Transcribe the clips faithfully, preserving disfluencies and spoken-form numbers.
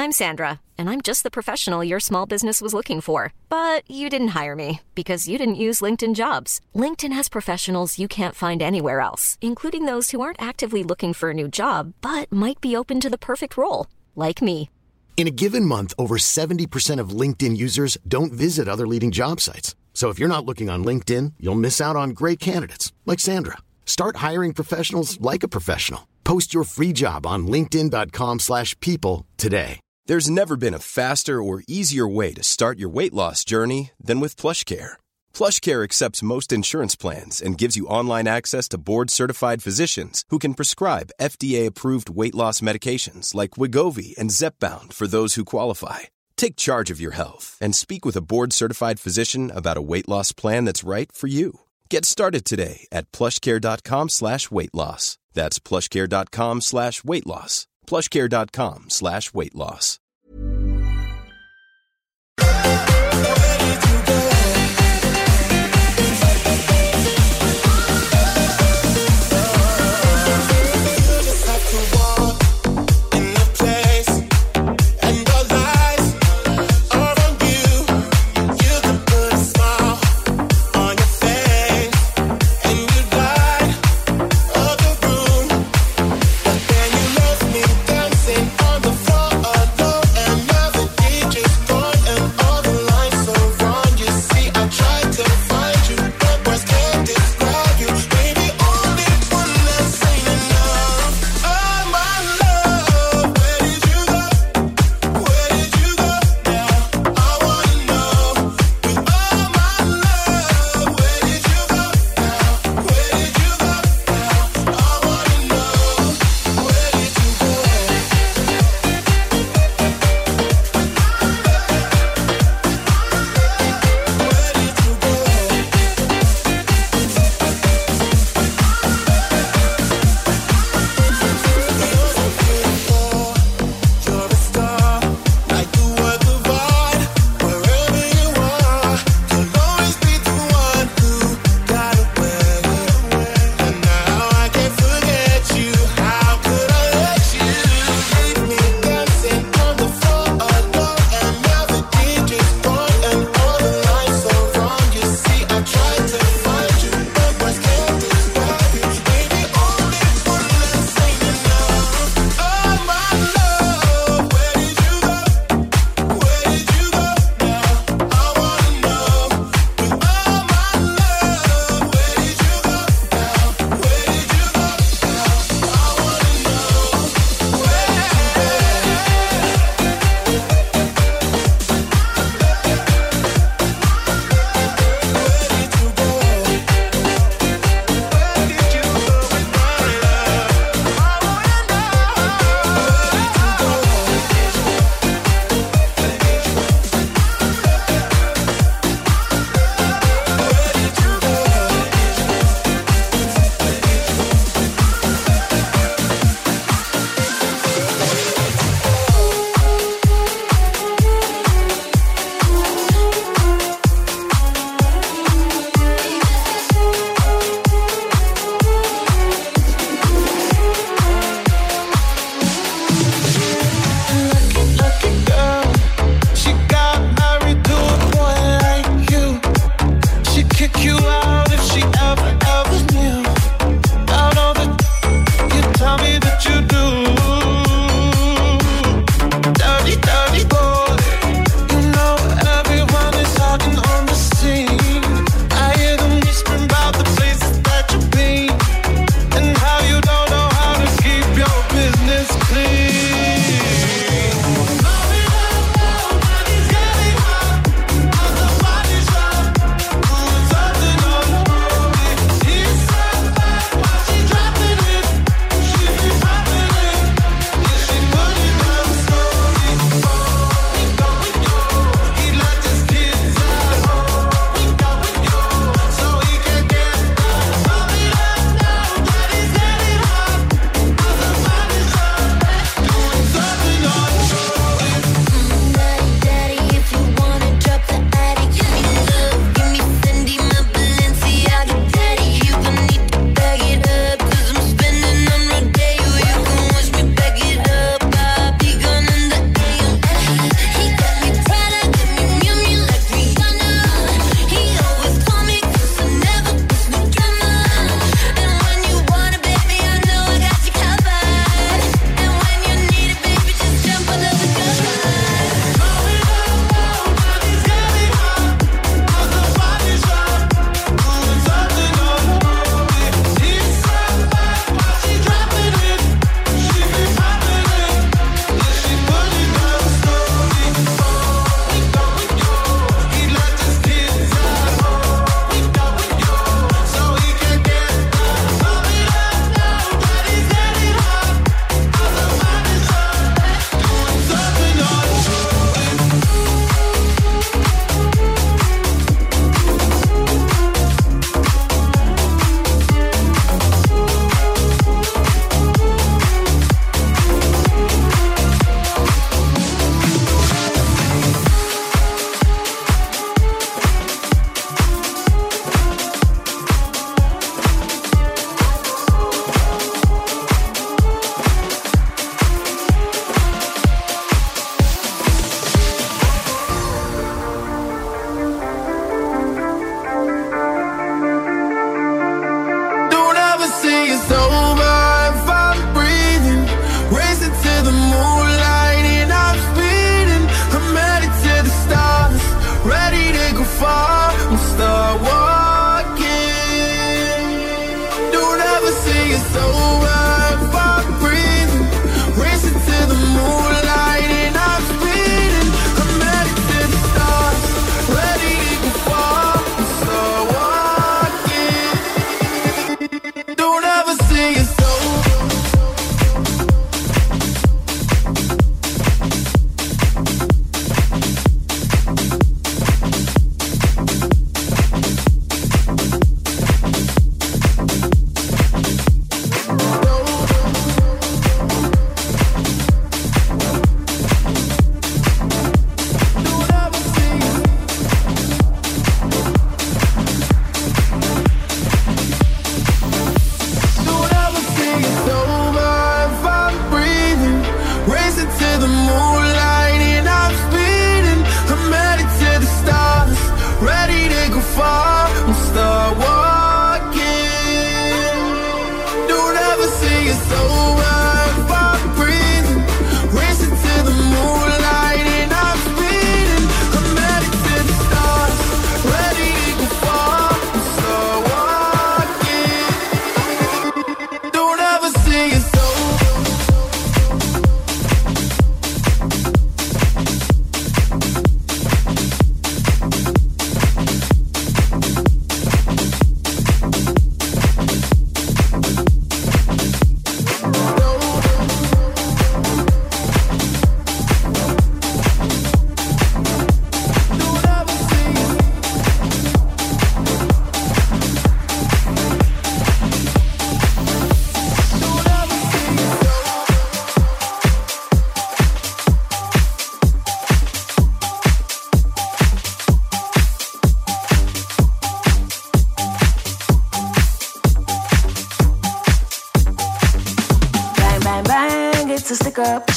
I'm Sandra, and I'm just the professional your small business was looking for. But you didn't hire me because you didn't use LinkedIn Jobs. LinkedIn has professionals you can't find anywhere else, including those who aren't actively looking for a new job, but might be open to the perfect role, like me. In a given month, over seventy percent of LinkedIn users don't visit other leading job sites. So if you're not looking on LinkedIn, you'll miss out on great candidates like Sandra. Start hiring professionals like a professional. Post your free job on linkedin dot com slash people today. There's never been a faster or easier way to start your weight loss journey than with PlushCare. PlushCare accepts most insurance plans and gives you online access to board-certified physicians who can prescribe F D A-approved weight loss medications like Wegovy and Zepbound for those who qualify. Take charge of your health and speak with a board-certified physician about a weight loss plan that's right for you. Get started today at plushcare.com slash weight loss. That's plushcare.com slash weight loss. plushcare.com slash weight loss. On the floor alone.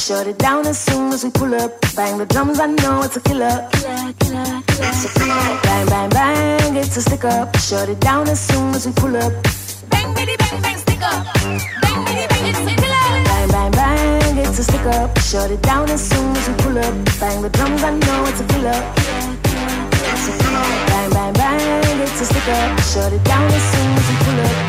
shut it down as soon as we pull up. Bang the drums, I know it's a killer. Killer, killer, killer. It's a killer. Bang, bang, bang, it's a stick up. Shut it down as soon as we pull up. Bang, bitty, bang, bang, stick up. Bang, bitty, bang, it's a killer. Bang, bang, bang, it's a stick up. Shut it down as soon as we pull up. Bang the drums, I know it's a killer. It's a killer. Bang, bang, bang, it's a stick up. Shut it down as soon as we pull up.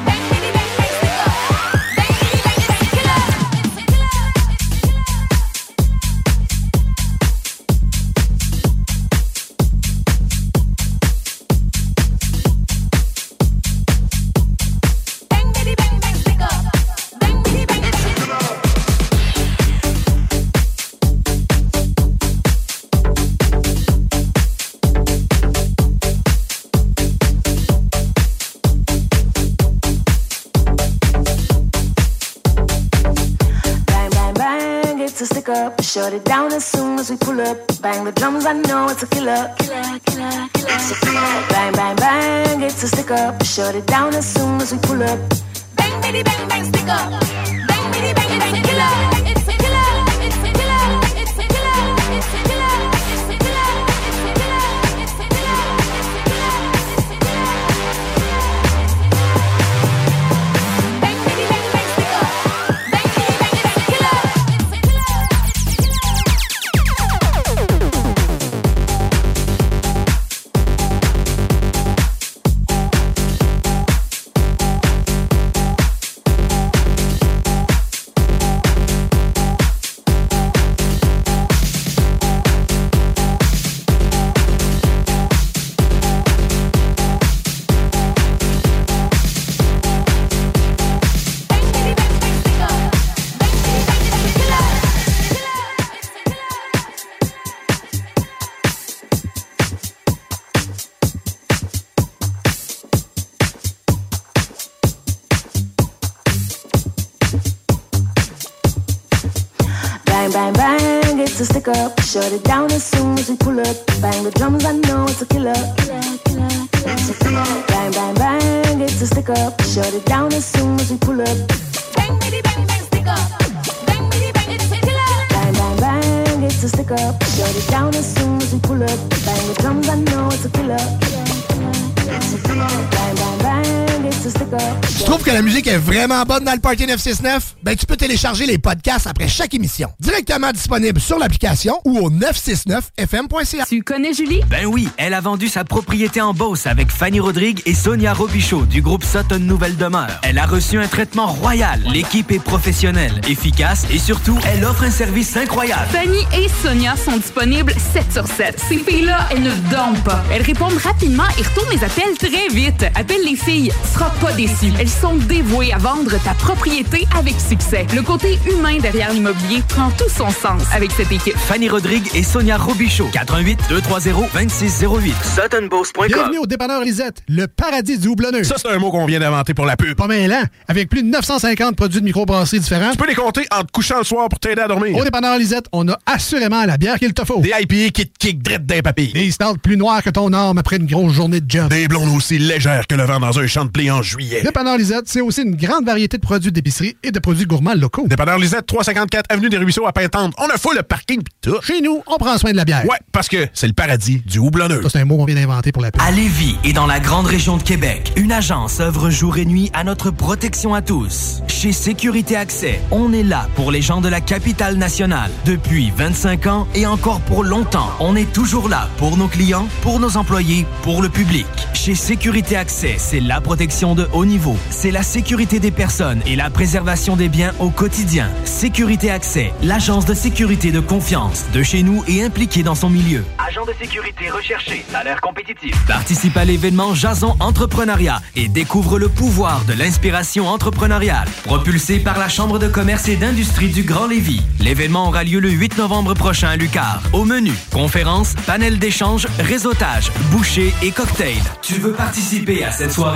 Up, shut it down as soon as we pull up. Bang the drums, I know it's a killer. Killer, killer, killer. It's a killer. Bang, bang, bang, it's a stick up. Shut it down as soon as we pull up. Bang, bitty, bang, bang, stick up. Bang, bitty, bang, it's a killer. It's a killer. It's a killer. It's a killer. It's a killer. It's a killer. It's a killer. It's a killer. It's a killer. Bang, bitty, bang, bang, stick up. Bang, bitty, bang, it's a killer. Bang, bang, it's a stick up. Shut it down as soon as we pull up. Bang the drums, I know it's a killer. Killer, killer, killer. It's a killer. Bang, bang, bang, it's a stick up. Shut it down as soon as we pull up. Bang, bitty, bang, bang, stick up. Bang, bitty, bang, it's a killer. Bang, bang, bang, it's a stick up. Shut it down as soon as we pull up. Bang the drums, I know it's a killer. Killer, killer, killer. It's a killer. Bang, bang, bang, it's a stick up. Tu trouves que la musique est vraiment bonne dans le Party neuf cent soixante-neuf? Ben, tu peux télécharger les podcasts après chaque émission. Directement disponible sur l'application ou au neuf cent soixante-neuf F M point C A. Tu connais Julie? Ben oui, elle a vendu sa propriété en Beauce avec Fanny Rodrigue et Sonia Robichaud du groupe Sutton Nouvelle Demeure. Elle a reçu un traitement royal. L'équipe est professionnelle, efficace et surtout, elle offre un service incroyable. Fanny et Sonia sont disponibles sept sur sept. Ces filles-là, elles ne dorment pas. Elles répondent rapidement et retournent les appels très vite. Appelle les filles, tu seras pas déçu. Elles sont dévouées à vendre ta propriété avec succès. Le côté humain derrière l'immobilier prend tout son sens avec cette équipe. Fanny Rodrigue et Sonia Robichaud. quatre un huit, deux trois zéro, deux six zéro huit. Sutton Beauce point com. Bienvenue au dépanneur Lisette, le paradis du houblonneux. Ça, c'est un mot qu'on vient d'inventer pour la pub. Pas mêlant. Avec plus de neuf cent cinquante produits de microbrasserie différents. Tu peux les compter en te couchant le soir pour t'aider à dormir. Au dépanneur Lisette, on a assurément la bière qu'il te faut. Des I P A qui te kick drette d'un papier. Des stouts plus noirs que ton âme après une grosse journée de job. Des blondes aussi légères que le vent dans un champ de blé en juillet. Dépanneur Lisette, c'est aussi une grande variété de produits d'épicerie et de produits gourmands locaux. Dépanneur Lisette, trois cent cinquante-quatre Avenue des Ruisseaux à Pintendre. On a full le parking pis tout. Chez nous, on prend soin de la bière. Ouais, parce que c'est le paradis du houblonneux. Ça, c'est un mot qu'on vient d'inventer pour la pub. À Lévis et dans la grande région de Québec, une agence œuvre jour et nuit à notre protection à tous. Chez Sécurité Accès, on est là pour les gens de la capitale nationale. Depuis vingt-cinq ans et encore pour longtemps, on est toujours là pour nos clients, pour nos employés, pour le public. Chez Sécurité Accès, c'est la protection de haut niveau. C'est la sécurité des personnes et la préservation des biens au quotidien. Sécurité Accès, l'agence de sécurité de confiance de chez nous et impliquée dans son milieu. Agent de sécurité recherché, salaire compétitif. Participe à l'événement Jason Entrepreneuriat et découvre le pouvoir de l'inspiration entrepreneuriale. Propulsé par la Chambre de commerce et d'industrie du Grand Lévis. L'événement aura lieu le huit novembre prochain à Lucar. Au menu, conférences, panel d'échange, réseautage, bouchées et cocktails. Tu veux participer à cette soirée?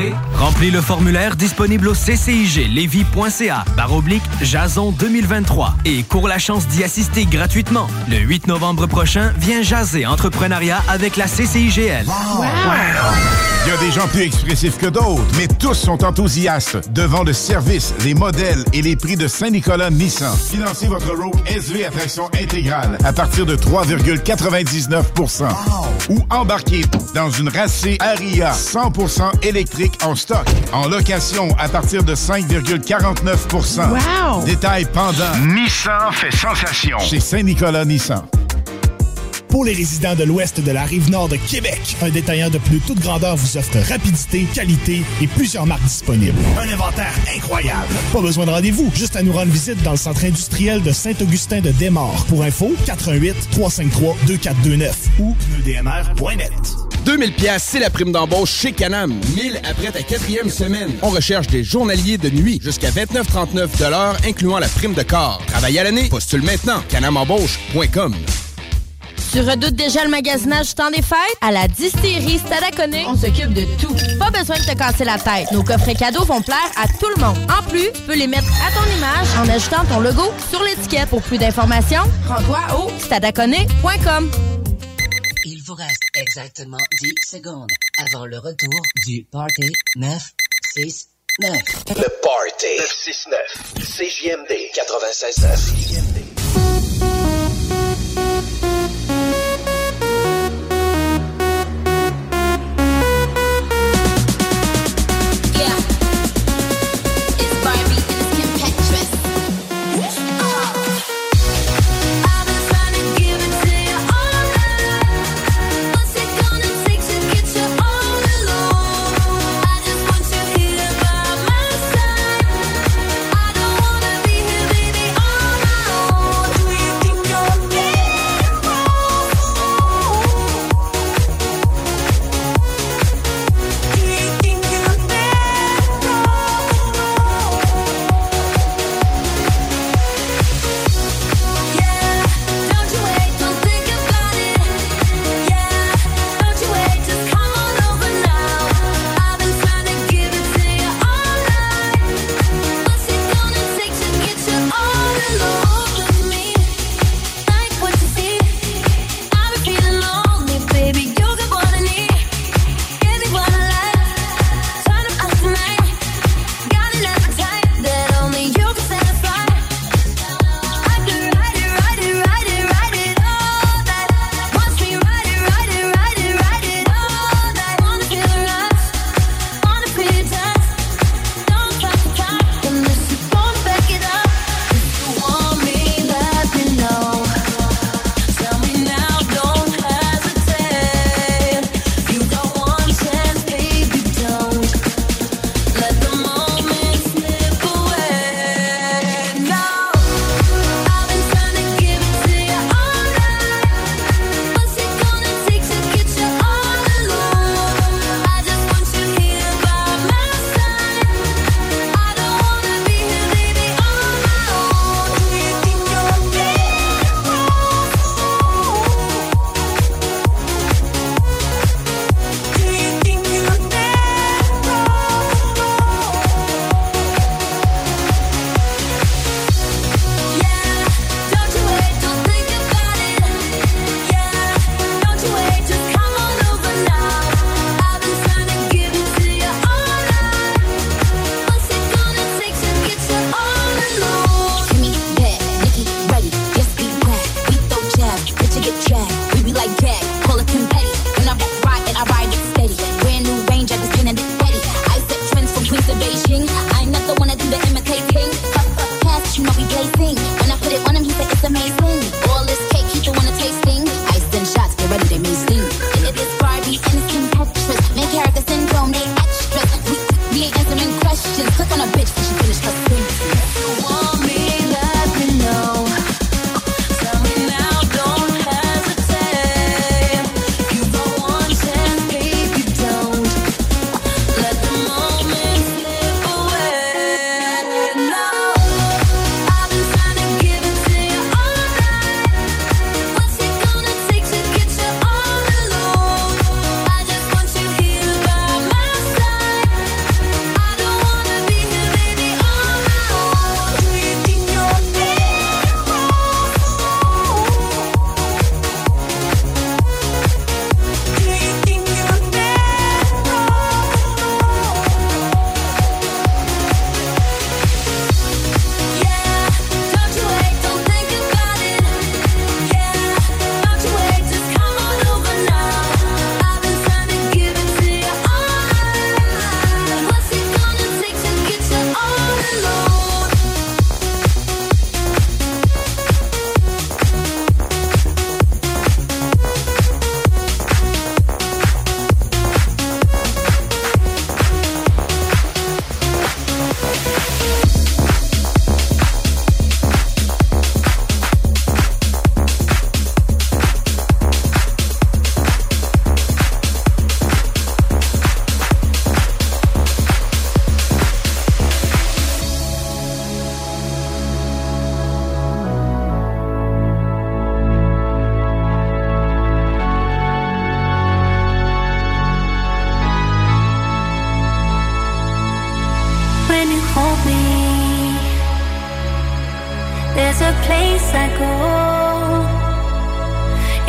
Remplis le formulaire disponible au c c i g lévis point c a barre oblique Jason deux mille vingt-trois et cours la chance d'y assister gratuitement. Le huit novembre prochain, viens jaser entrepreneuriat avec la C C I G L. Wow. Wow. Il y a des gens plus expressifs que d'autres, mais tous sont enthousiastes devant le service, les modèles et les prix de Saint-Nicolas Nissan. Financez votre Rogue S V à traction intégrale à partir de trois virgule quatre-vingt-dix-neuf pour cent. Wow. Ou embarquez dans une Racé Aria cent pour cent électrique en stock. En location à partir de cinq virgule quarante-neuf pour cent. Wow. Détail pendant. Nissan fait sensation chez Saint-Nicolas Nissan. Pour les résidents de l'ouest de la Rive-Nord de Québec, un détaillant de plus toute grandeur vous offre rapidité, qualité et plusieurs marques disponibles. Un inventaire incroyable. Pas besoin de rendez-vous, juste à nous rendre visite dans le centre industriel de Saint-Augustin de Desmaures. Pour info, quatre un huit, trois cinq trois, deux quatre deux neuf ou pneus d m r point net. deux mille piastres, c'est la prime d'embauche chez Canam. mille après ta quatrième semaine. On recherche des journaliers de nuit jusqu'à vingt-neuf trente-neuf de l'heure, incluant la prime de corps. Travail à l'année, postule maintenant. canam embauche point com. Tu redoutes déjà le magasinage du temps des fêtes? À la distillerie Stadaconé, on s'occupe de tout. Pas besoin de te casser la tête. Nos coffrets cadeaux vont plaire à tout le monde. En plus, tu peux les mettre à ton image en ajoutant ton logo sur l'étiquette. Pour plus d'informations, rends-toi au stadaconé point com. Il vous reste exactement dix secondes avant le retour du Party neuf six neuf. Le Party neuf six neuf. C J M D quatre-vingt-seize neuf.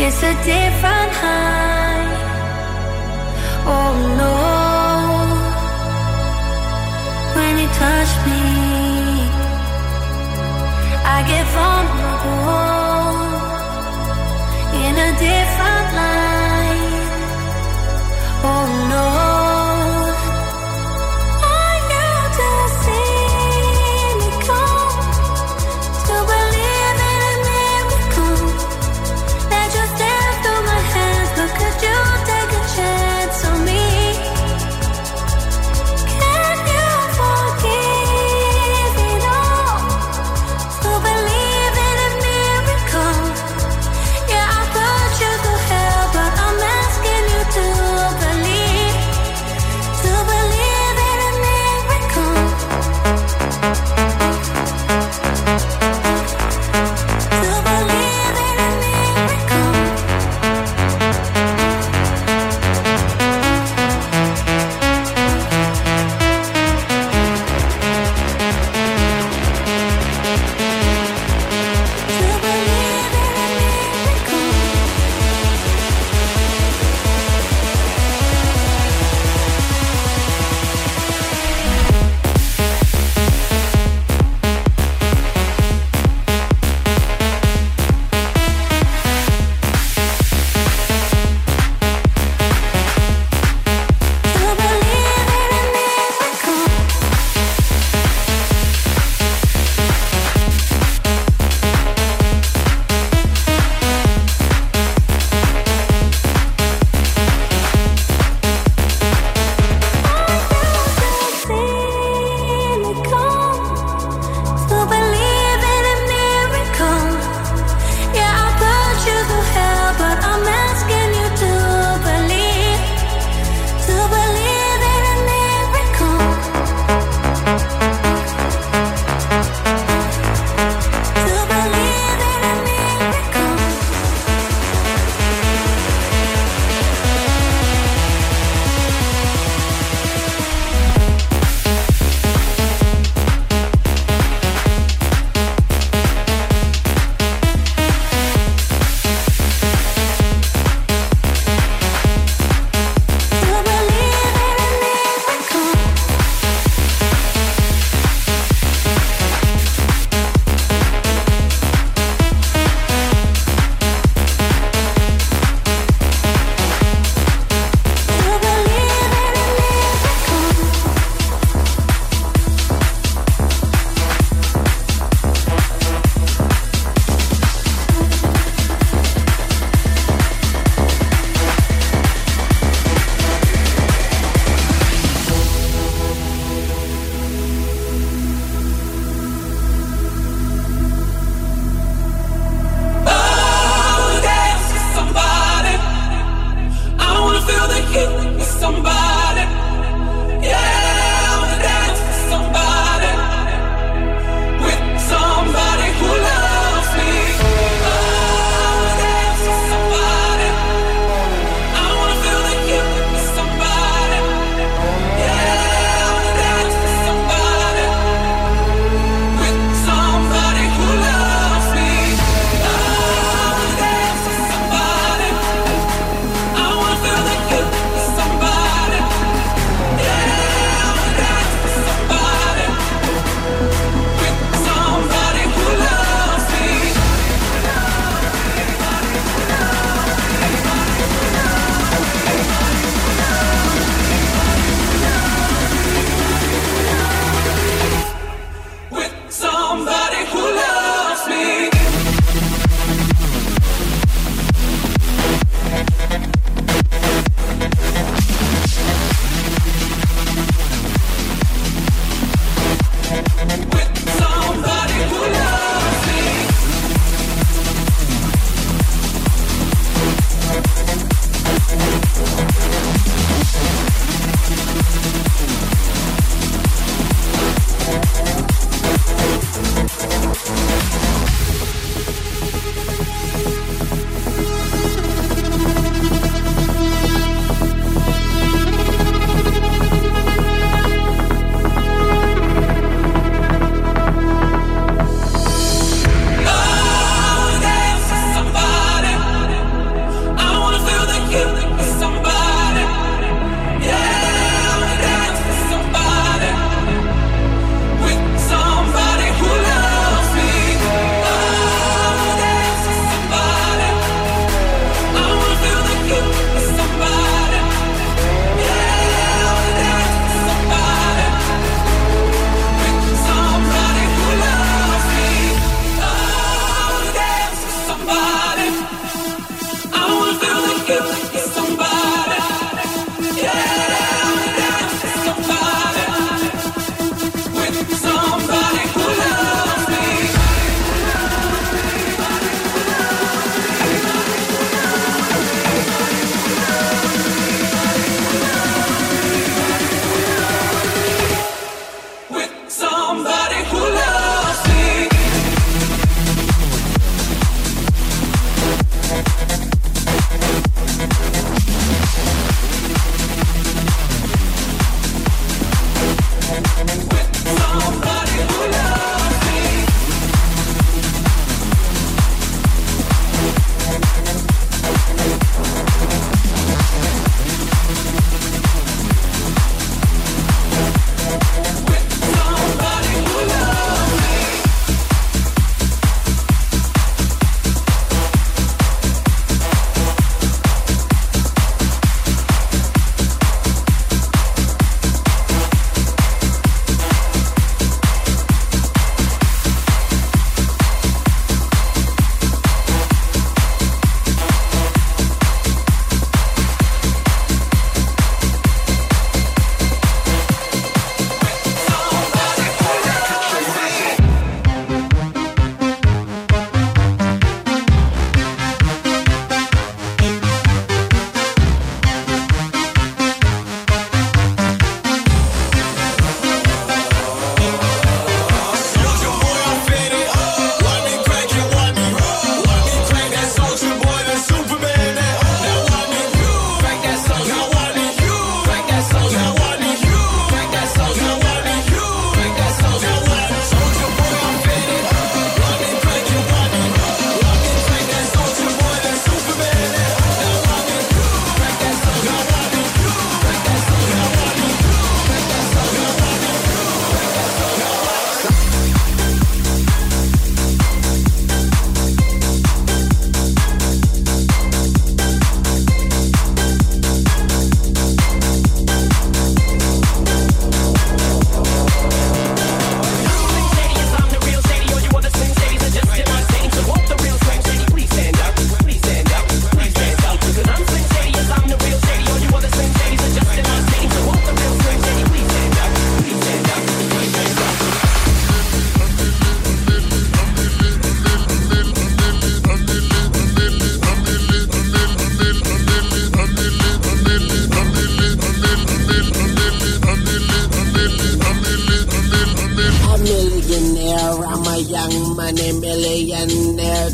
It's a different high. Oh no, when you touch me, I get vulnerable in a different light. Oh no. But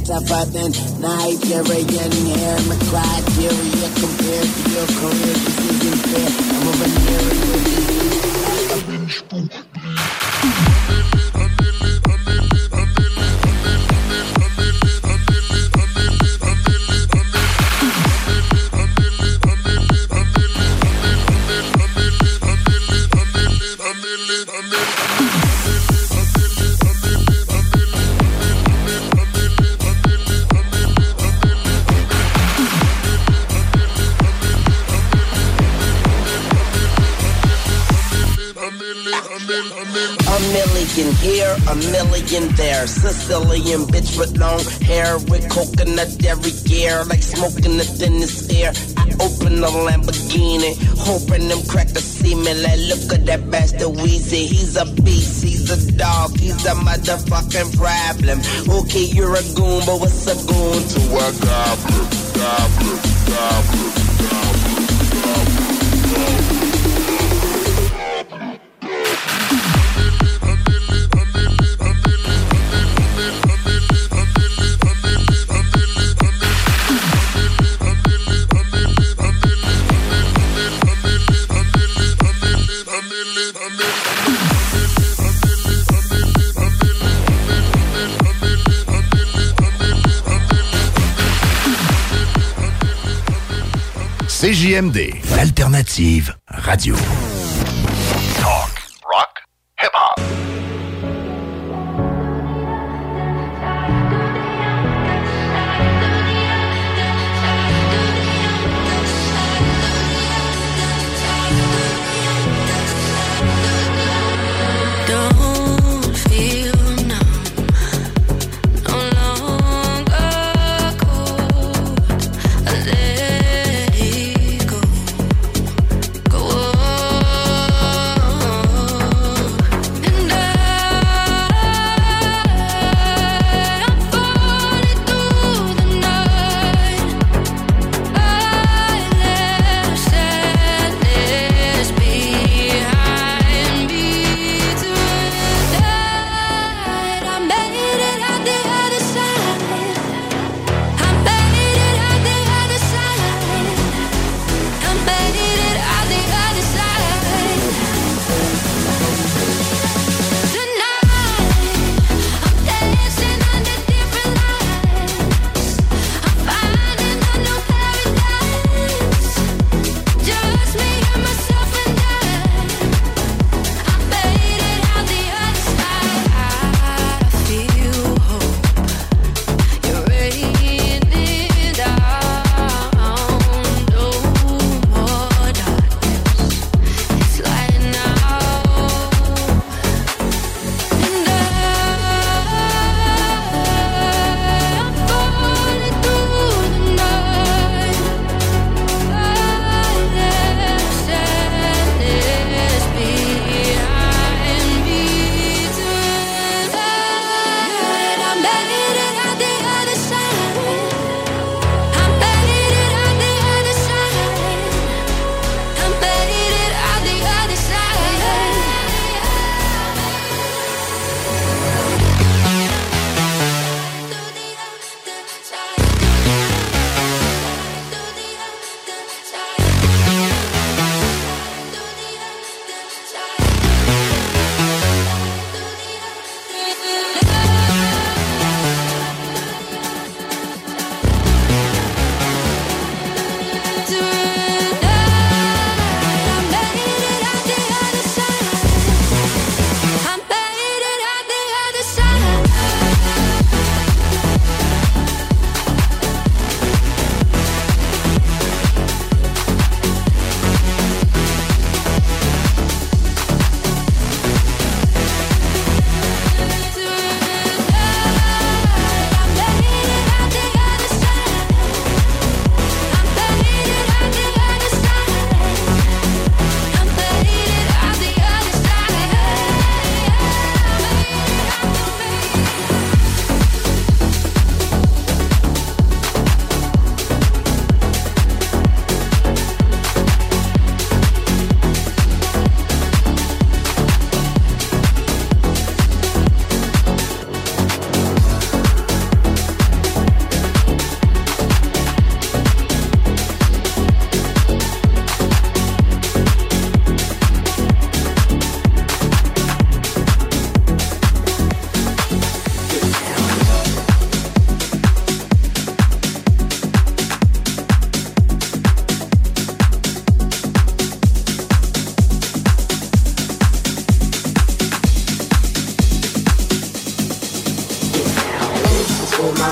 tougher than Nigerian hair. My criteria compared to your career, this isn't fair. I'm a venereal disease like a binge book. A million here, a million there. Sicilian bitch with long hair with coconut every year, like smoking the thinnest air. I open the Lamborghini, hoping them crackers see me. Like, look at that bastard Weezy. He's a beast, he's a dog, he's a motherfucking problem. Okay, you're a goon, but what's a goon to a goblin? Goblin, goblin, goblin, goblin, goblin. C J M D, l'alternative radio. Talk, rock, hip-hop. Don't feel numb, no longer cold. I let it go, go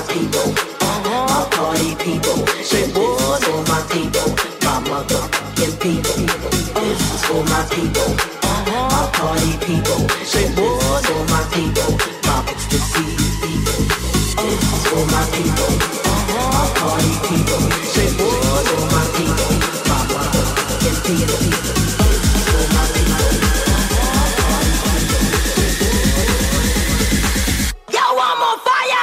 people, my party people. This is for my people, my motherfucking people. This is for my people, my party people. This is for my people, my ecstasy people. This is for my people, my party people. This is for my people, my motherfucking people. This is for my people. Yo, I'm on fire!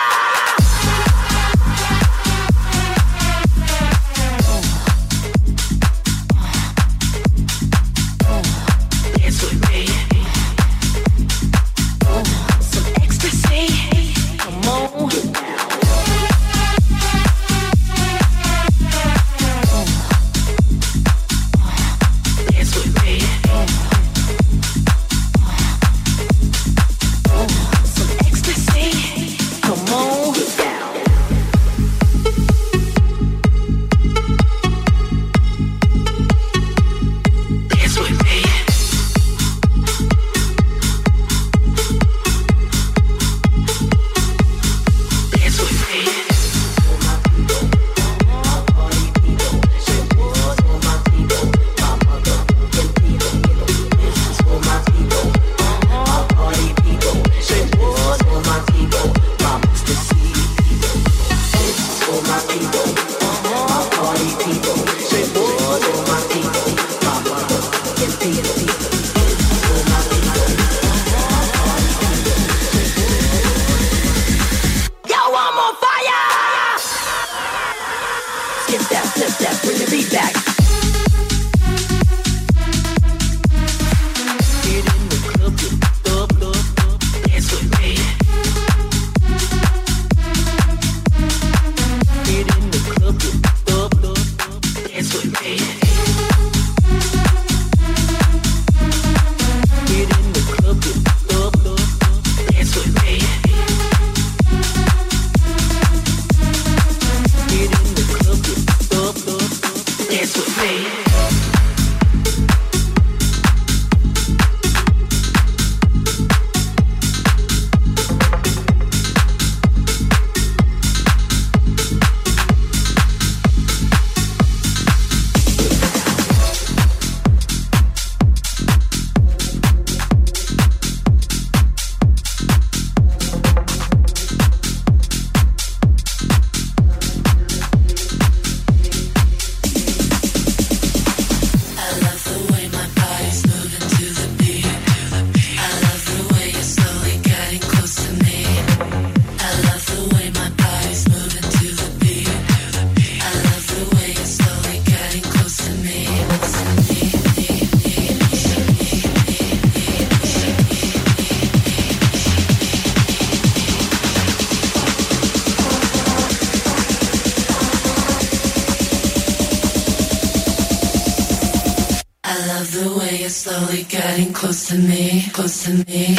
Slowly getting close to me, close to me.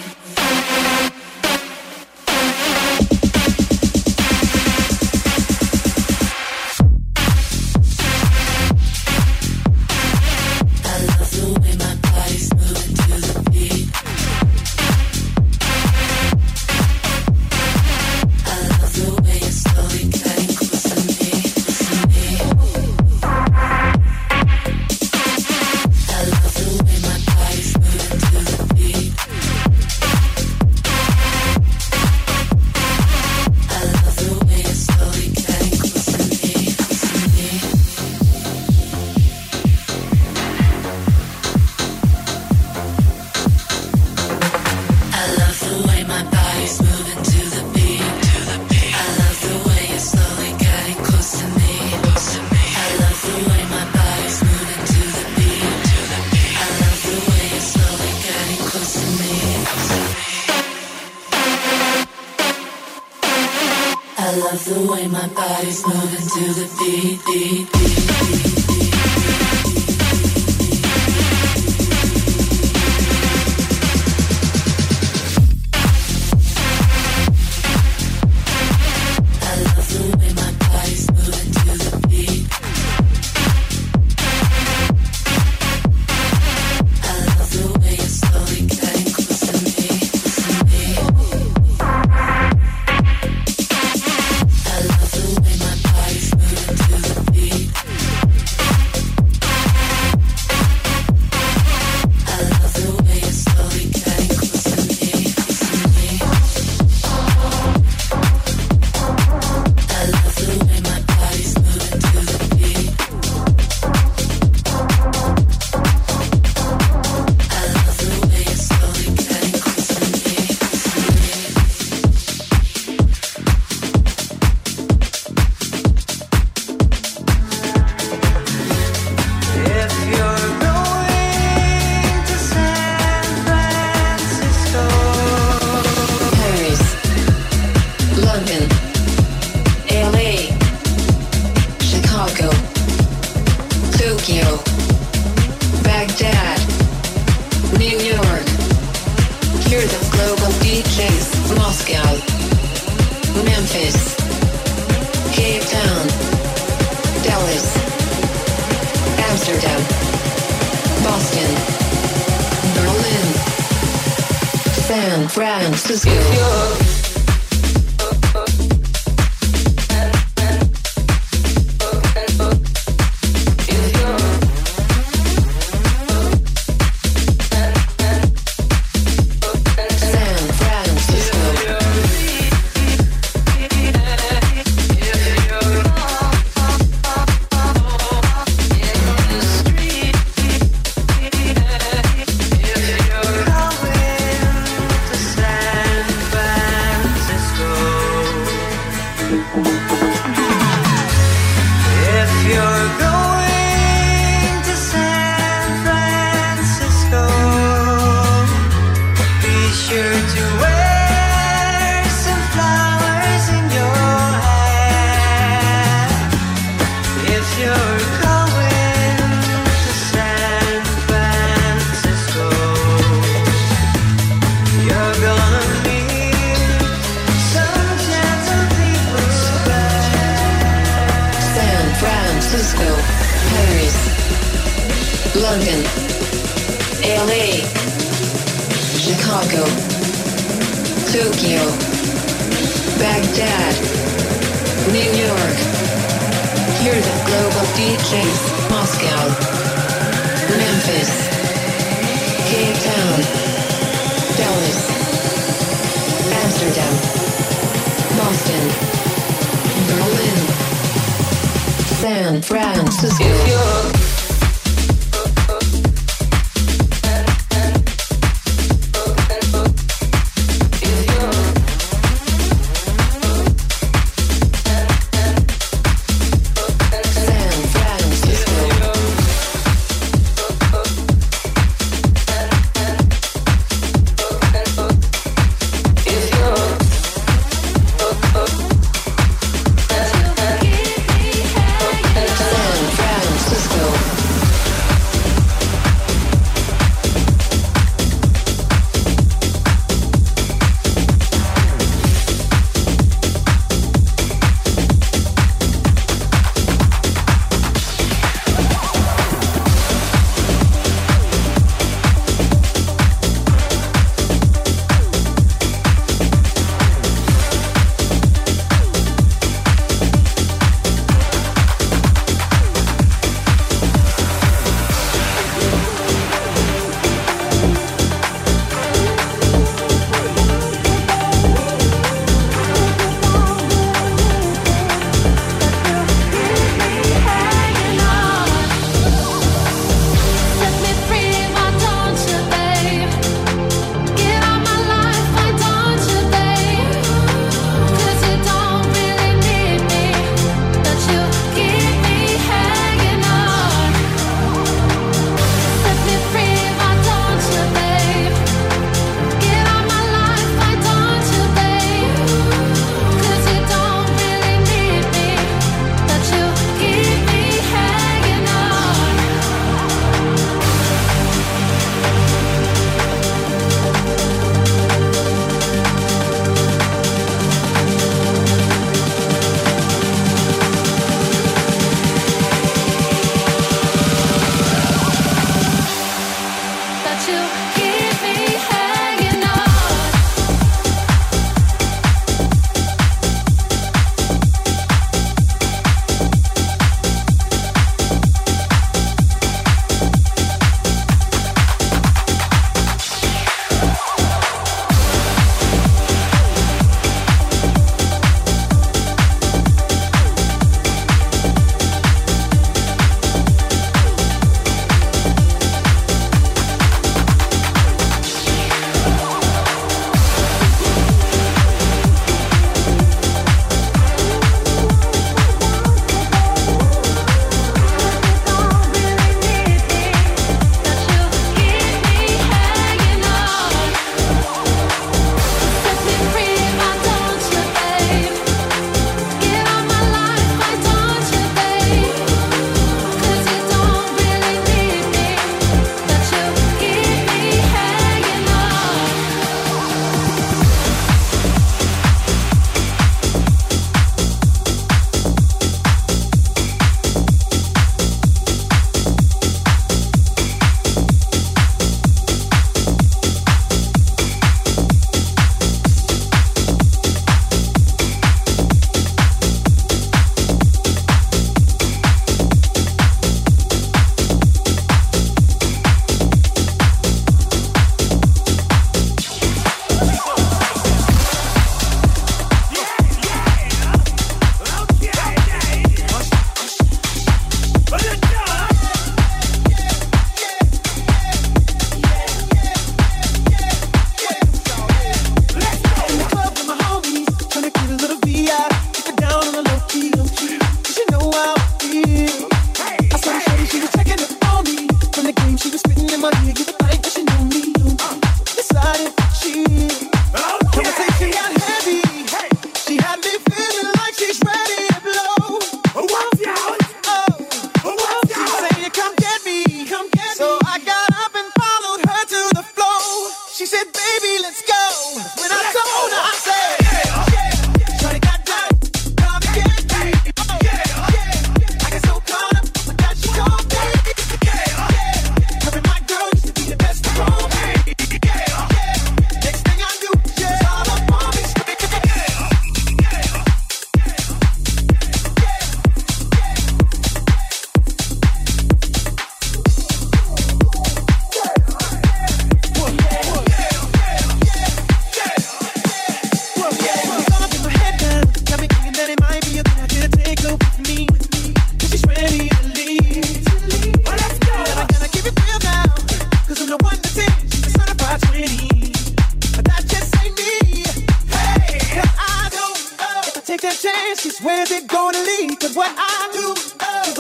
I love the way my body's moving to the beat, beat, beat, beat. Chicago, Tokyo, Baghdad, New York. Hear the global D Js. Moscow, Memphis, Cape Town, Dallas, Amsterdam, Boston, Berlin, San Francisco. London, L A, Chicago, Tokyo, Baghdad, New York. Hear the global D Js. Moscow, Memphis, Cape Town, Dallas, Amsterdam, Boston, Berlin, San Francisco. If you're San Francisco.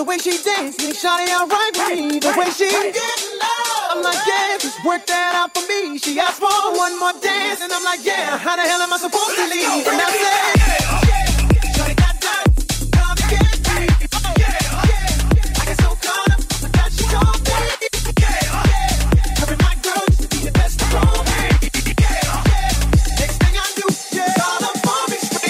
the way she dances, shawty alright with me. The way she, I'm like, yeah, just work that out for me. She asked for one more dance, and I'm like, yeah, how the hell am I supposed to leave? And I said, shawty got that, come and get me. I get so caught up, I got you all day. Her and my girl used to be the best around me. Next thing I do, yeah, all up on me straight.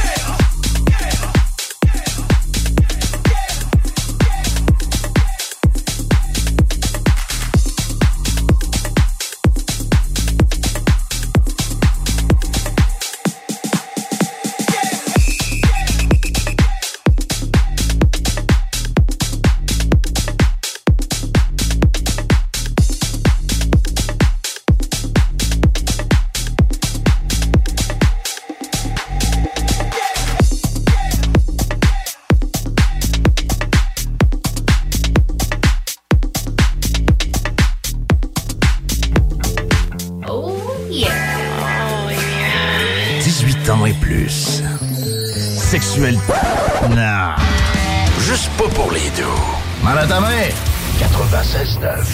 dix-huit ans et plus. Sexuel. Non. Juste pas pour les deux. Mal à ta main. quatre-vingt-seize neuf.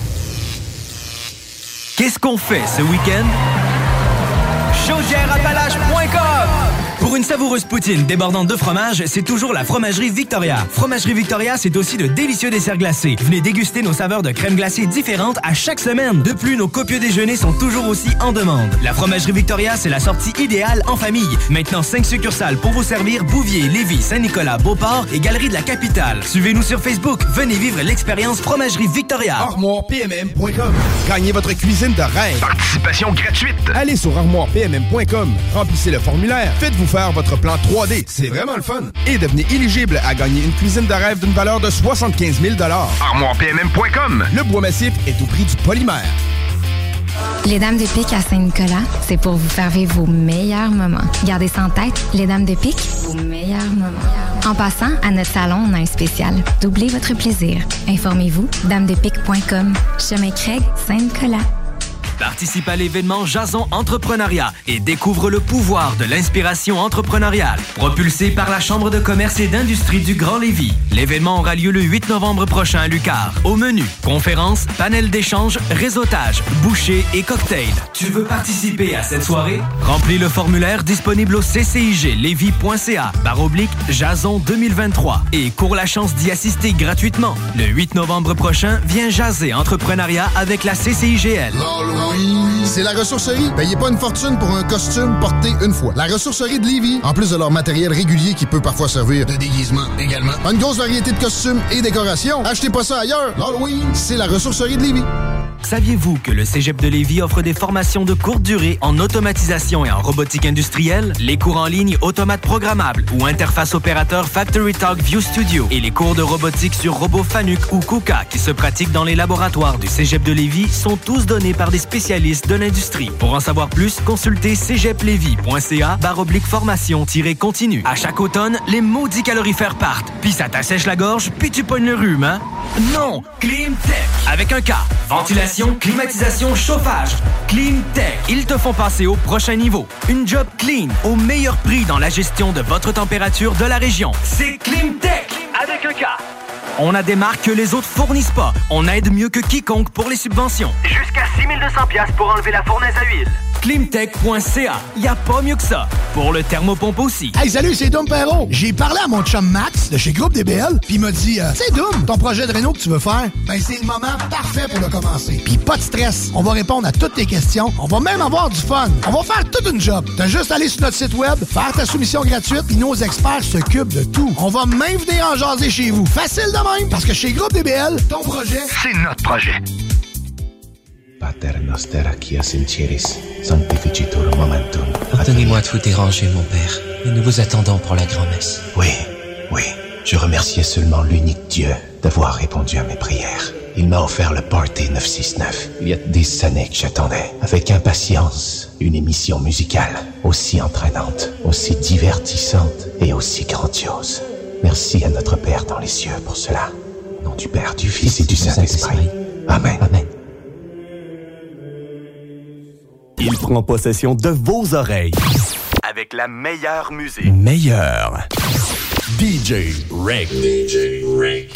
Qu'est-ce qu'on fait ce week-end? chaudière appalaches point com. Pour une savoureuse poutine débordante de fromage, c'est toujours la Fromagerie Victoria. Fromagerie Victoria, c'est aussi de délicieux desserts glacés. Venez déguster nos saveurs de crème glacée différentes à chaque semaine. De plus, nos copieux déjeuners sont toujours aussi en demande. La Fromagerie Victoria, c'est la sortie idéale en famille. Maintenant, cinq succursales pour vous servir: Bouvier, Lévis, Saint-Nicolas, Beauport et Galerie de la Capitale. Suivez-nous sur Facebook. Venez vivre l'expérience Fromagerie Victoria. armoire p m m point com. Gagnez votre cuisine de rêve. Participation gratuite. Allez sur armoire p m m point com. Remplissez le formulaire. Faites-vous faire votre plan trois D. C'est vraiment le fun. Et devenez éligible à gagner une cuisine de rêve d'une valeur de soixante-quinze mille dollars. armoire p m m point com. Le bois massif est au prix du polymère. Les Dames de Pique à Saint-Nicolas, c'est pour vous faire vivre vos meilleurs moments. Gardez ça en tête, les Dames de Pique, vos meilleurs moments. En passant, à notre salon, on a un spécial. Doublez votre plaisir. Informez-vous, dames de pique point com. Chemin Craig, Saint-Nicolas. Participe à l'événement Jason Entrepreneuriat et découvre le pouvoir de l'inspiration entrepreneuriale. Propulsé par la Chambre de commerce et d'industrie du Grand Lévis. L'événement aura lieu le huit novembre prochain à Lucar. Au menu, conférences, panel d'échange, réseautage, bouchées et cocktails. Tu veux participer à cette soirée? Remplis le formulaire disponible au c c i g lévis point c a barre oblique Jason deux mille vingt-trois et cours la chance d'y assister gratuitement. Le huit novembre prochain, viens jaser entrepreneuriat avec la C C I G L. C'est la ressourcerie. Payez pas une fortune pour un costume porté une fois. La ressourcerie de Lévis, en plus de leur matériel régulier qui peut parfois servir de déguisement également, une grosse variété de costumes et décorations. Achetez pas ça ailleurs. L'Halloween, c'est la ressourcerie de Lévis. Saviez-vous que le Cégep de Lévis offre des formations de courte durée en automatisation et en robotique industrielle, les cours en ligne automates programmables ou interface opérateur Factory Talk View Studio et les cours de robotique sur robot Fanuc ou KUKA qui se pratiquent dans les laboratoires du Cégep de Lévis sont tous donnés par des spécialistes de l'industrie. Pour en savoir plus, consultez cégep lévis point c a barre oblique formation continue. À chaque automne, les maudits calorifères partent, puis ça t'assèche la gorge, puis tu pognes le rhume, hein? Non! Climtech! Avec un K. Ventilation, climatisation, chauffage. Climtech. Ils te font passer au prochain niveau. Une job clean, au meilleur prix dans la gestion de votre température de la région. C'est Climtech! Avec un K. On a des marques que les autres fournissent pas. On aide mieux que quiconque pour les subventions. Jusqu'à six mille deux cents dollars pour enlever la fournaise à huile. Climtech point c a. Y a pas mieux que ça. Pour le thermopompe aussi. Hey, salut, c'est Dom Perrault. J'ai parlé à mon chum Max de chez Groupe D B L, puis il m'a dit euh, « C'est Dom, ton projet de réno que tu veux faire, ben c'est le moment parfait pour le commencer. Puis pas de stress, on va répondre à toutes tes questions. On va même avoir du fun. On va faire toute une job. T'as juste à aller sur notre site web, faire ta soumission gratuite, puis nos experts s'occupent de tout. On va même venir en jaser chez vous. Facile de même, parce que chez Groupe D B L, ton projet, c'est notre projet. Pater noster qui sinceris, sanctificitur momentum. Pardonnez-moi de vous déranger, mon père, mais nous vous attendons pour la grand-messe. Oui, oui, je remerciais seulement l'unique Dieu d'avoir répondu à mes prières. Il m'a offert le Party neuf cent soixante-neuf. Il y a des années que j'attendais, avec impatience, une émission musicale aussi entraînante, aussi divertissante et aussi grandiose. Merci à notre Père dans les cieux pour cela. Au nom du Père, du Fils et du Saint-Esprit. Amen. Amen. Il prend possession de vos oreilles. Avec la meilleure musique. Meilleure. D J Reg. D J Reg.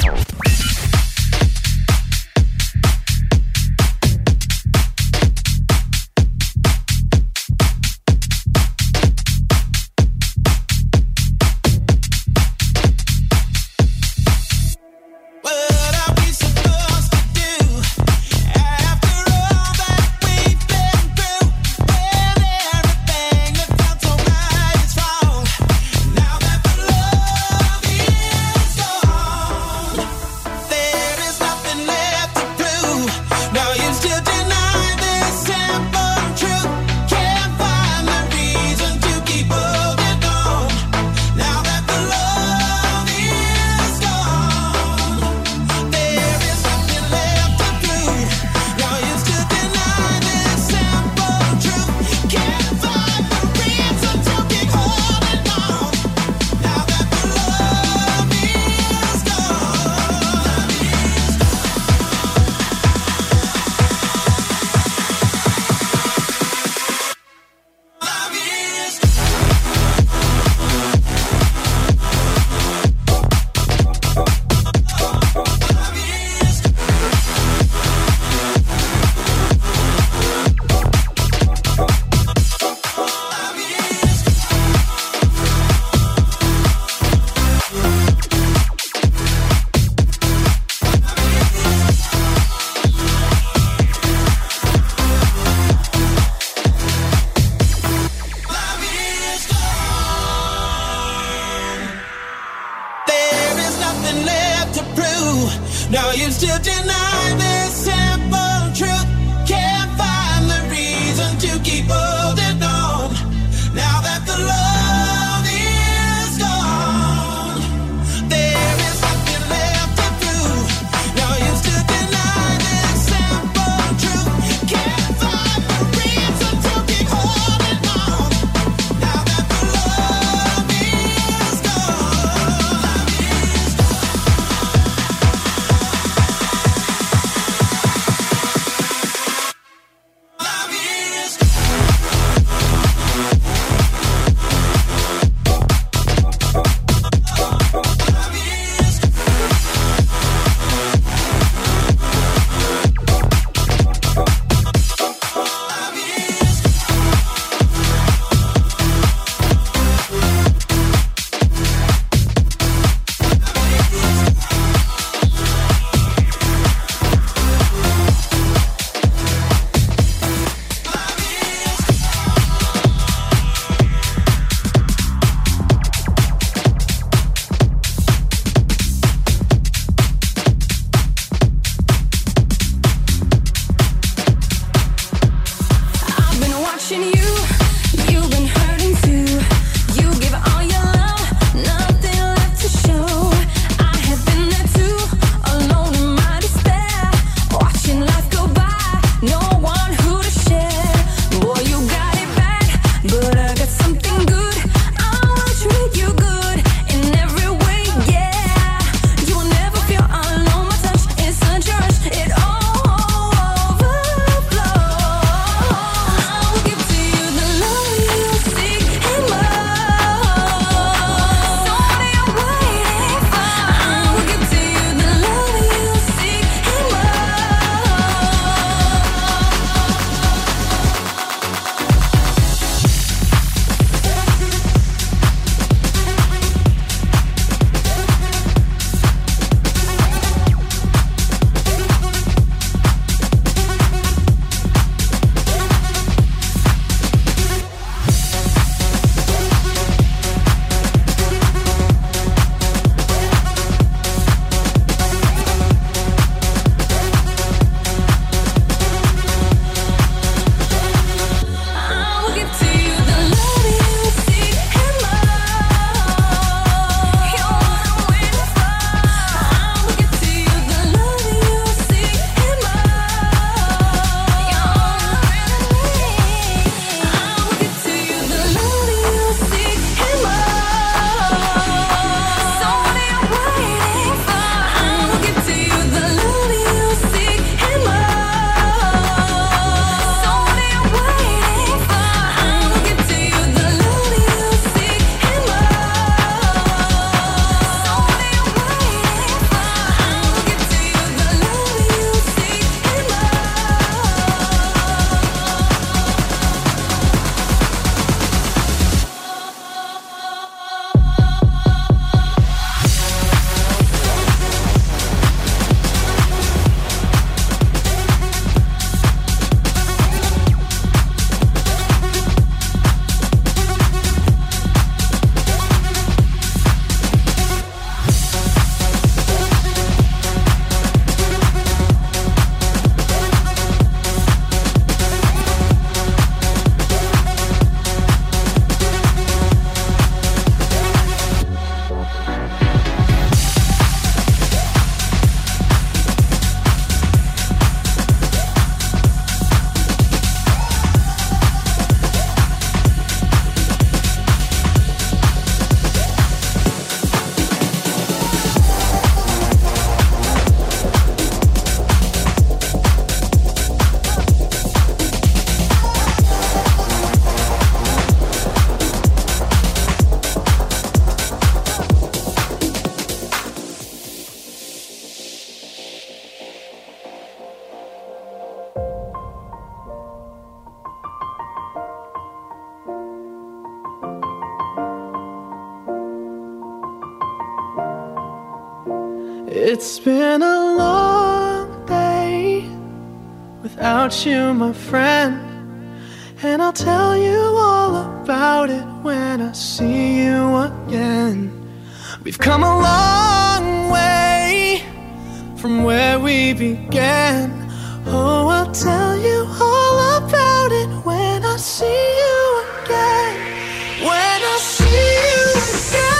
It's been a long day without you, my friend, and I'll tell you all about it when I see you again. We've come a long way from where we began. Oh, I'll tell you all about it when I see you again. When I see you again.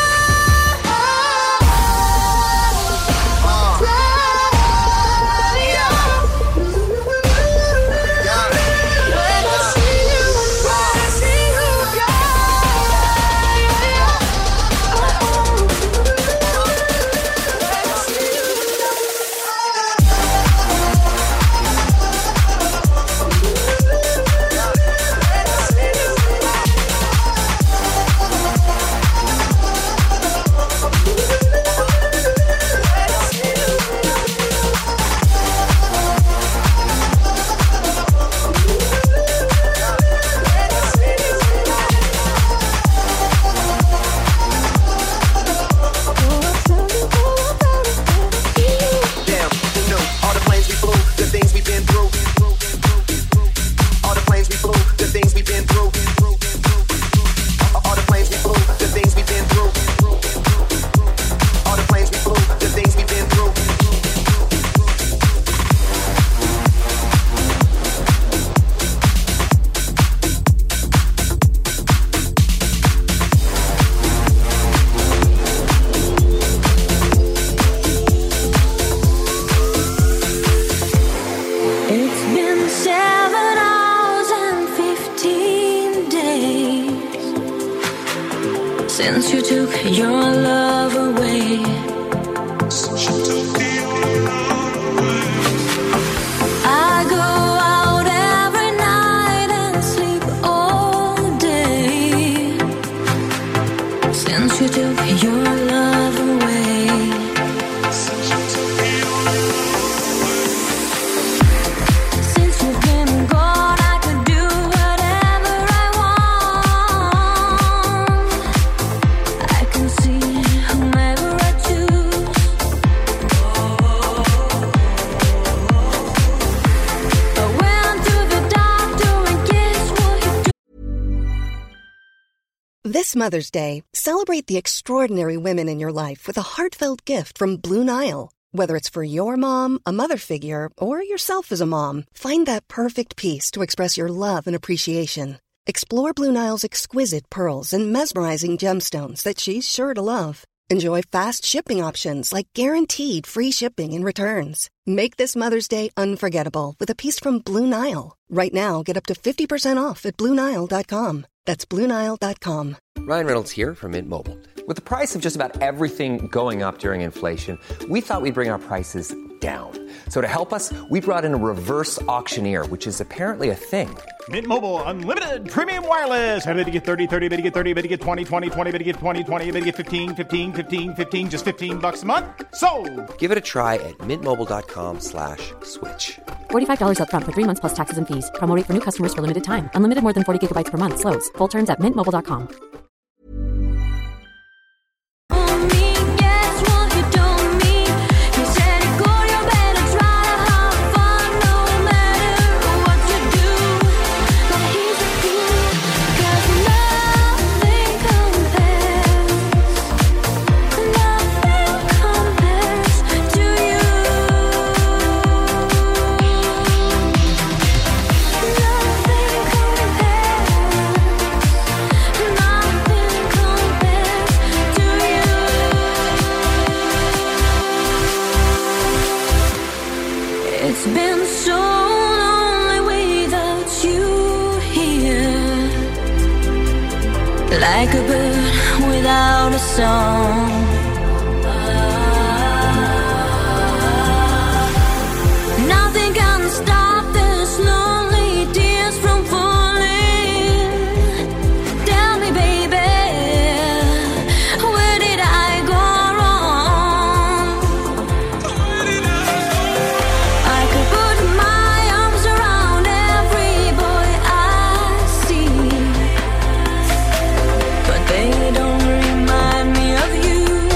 Since you took your love away, since you took your love away, I go out every night and sleep all day. Since you took your love away, since you took your love away, since you've been gone, I could do whatever I want. I can see whomever I choose. I went to the doctor and guess what he do? This Mother's Day, celebrate the extraordinary women in your life with a heartfelt gift from Blue Nile. Whether it's for your mom, a mother figure, or yourself as a mom, find that perfect piece to express your love and appreciation. Explore Blue Nile's exquisite pearls and mesmerizing gemstones that she's sure to love. Enjoy fast shipping options like guaranteed free shipping and returns. Make this Mother's Day unforgettable with a piece from Blue Nile. Right now, get up to fifty percent off at Blue Nile dot com. That's Blue Nile dot com. Ryan Reynolds here from Mint Mobile. With the price of just about everything going up during inflation, we thought we'd bring our prices down. So to help us, we brought in a reverse auctioneer, which is apparently a thing. Mint Mobile Unlimited Premium Wireless. How to get thirty, thirty, how to get thirty, how to get twenty, twenty, twenty, how to get twenty, twenty, how to get fifteen, fifteen, fifteen, fifteen, just fifteen bucks a month? Sold! Give it a try at mintmobile.com slash switch. forty-five dollars up front for three months plus taxes and fees. Promo rate for new customers for limited time. Unlimited more than forty gigabytes per month. Slows full terms at mint mobile dot com. It's been so lonely without you here, like a bird without a song. Nothing can stop this lonely tears from falling. Tell me, baby, where did I go wrong? I could put my arms around every boy I see, but they don't remind me of you.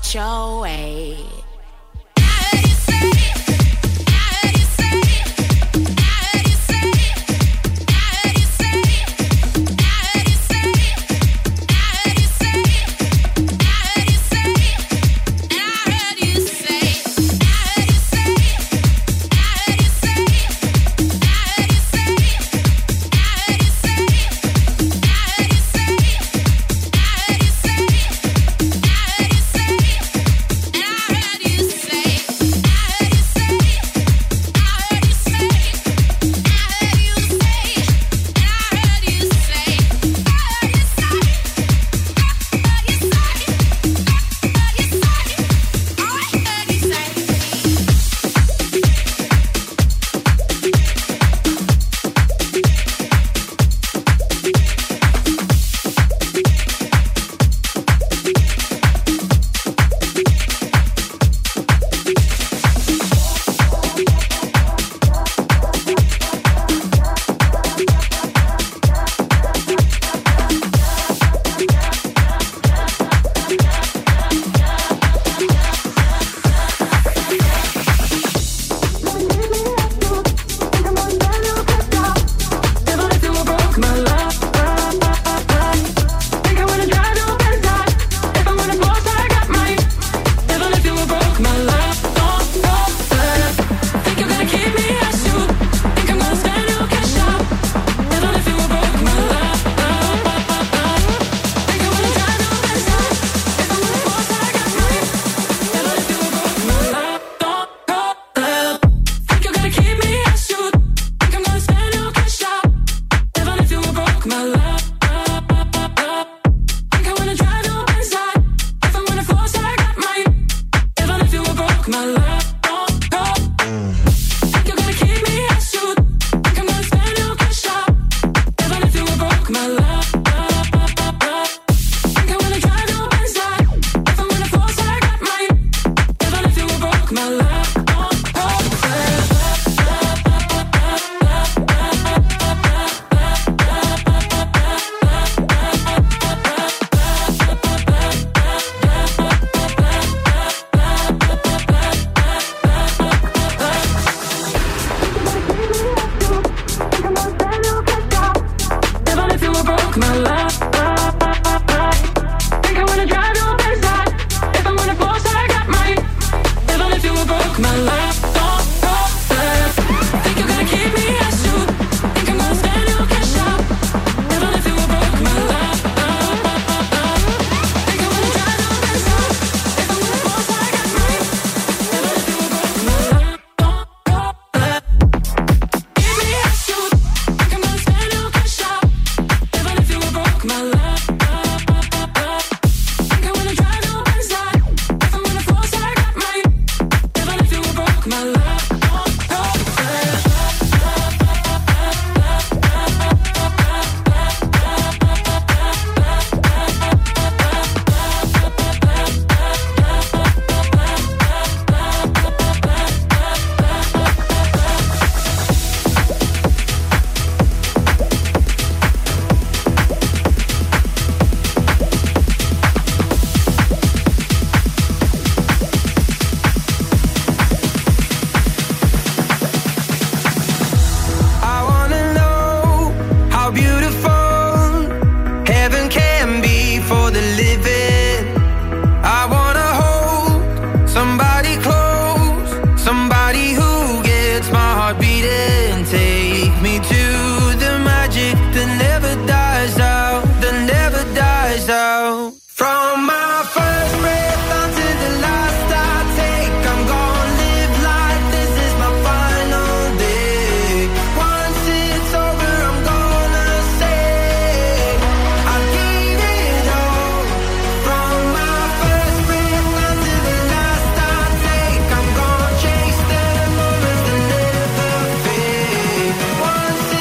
it your way. Once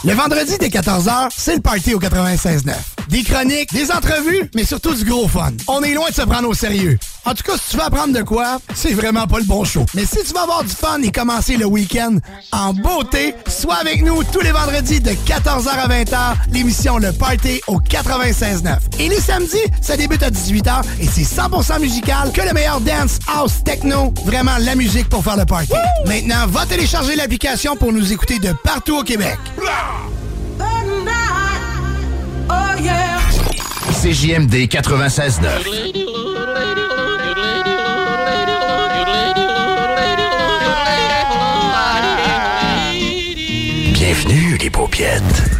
Le vendredi dès quatorze heures, c'est le party au quatre-vingt-seize neuf. Des chroniques, des entrevues, mais surtout du gros fun. On est loin de se prendre au sérieux. En tout cas, si tu veux apprendre de quoi, c'est vraiment pas le bon show. Mais si tu veux avoir du fun et commencer le week-end en beauté, sois avec nous tous les vendredis de quatorze heures à vingt heures, l'émission Le Party au quatre-vingt-seize neuf. Et les samedis, ça débute à dix-huit heures et c'est cent pour cent musical que le meilleur dance, house, techno, vraiment la musique pour faire le party. Woo! Maintenant, va télécharger l'application pour nous écouter de partout au Québec. Oh yeah. C J M D quatre-vingt-seize neuf. Bienvenue les paupiètes.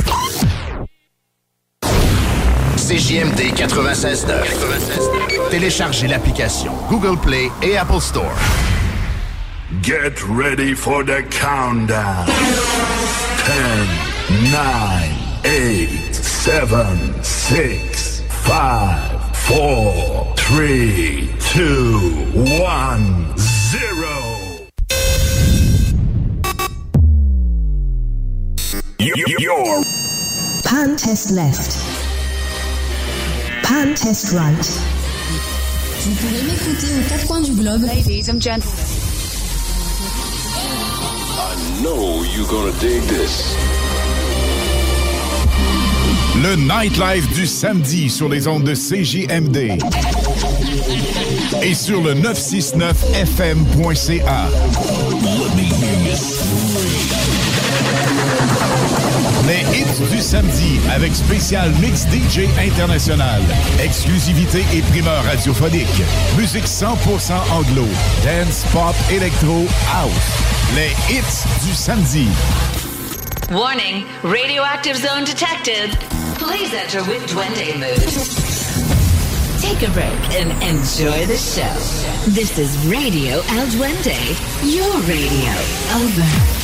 C J M D quatre-vingt-seize neuf. Téléchargez l'application Google Play et Apple Store. Get ready for the countdown. ten, nine, eight, seven, six, five, four, three, two, one, zero. Your pan test left. Pan test right. Vous pouvez m'écouter aux quatre coins du globe. Ladies and gentlemen. I know you're gonna dig this. Le Nightlife du samedi sur les ondes de C J M D et sur le neuf cent soixante-neuf F M point C A. Les hits du samedi avec spécial mix D J international, exclusivité et primeur radiophonique, musique cent pour cent anglo, dance, pop, électro, house. Les hits du samedi. Warning, radioactive zone detected. Please enter with Duende mood. Take a break and enjoy the show. This is Radio El Duende, your radio. Over.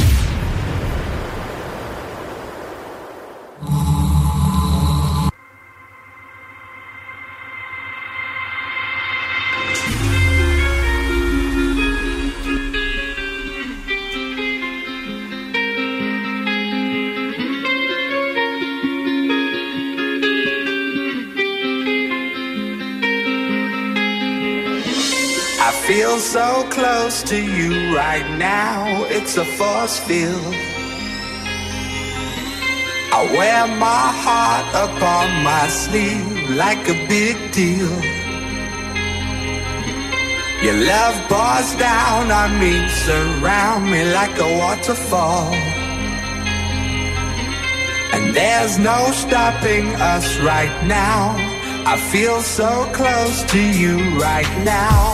Feel so close to you right now, it's a force field. I wear my heart upon my sleeve like a big deal. Your love pours down on me, surround me like a waterfall. And there's no stopping us right now. I feel so close to you right now.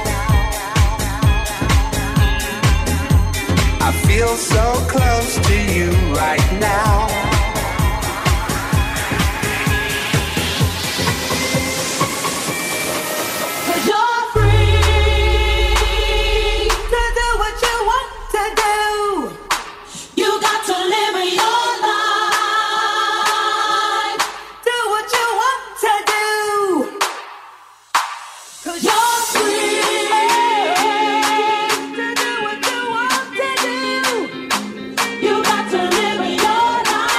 I feel so close to you right now. Cause you're free to do what you want to do. You got to live your life. Do what you want to do. Cause you're free. To do what you want to do. You got to live your life.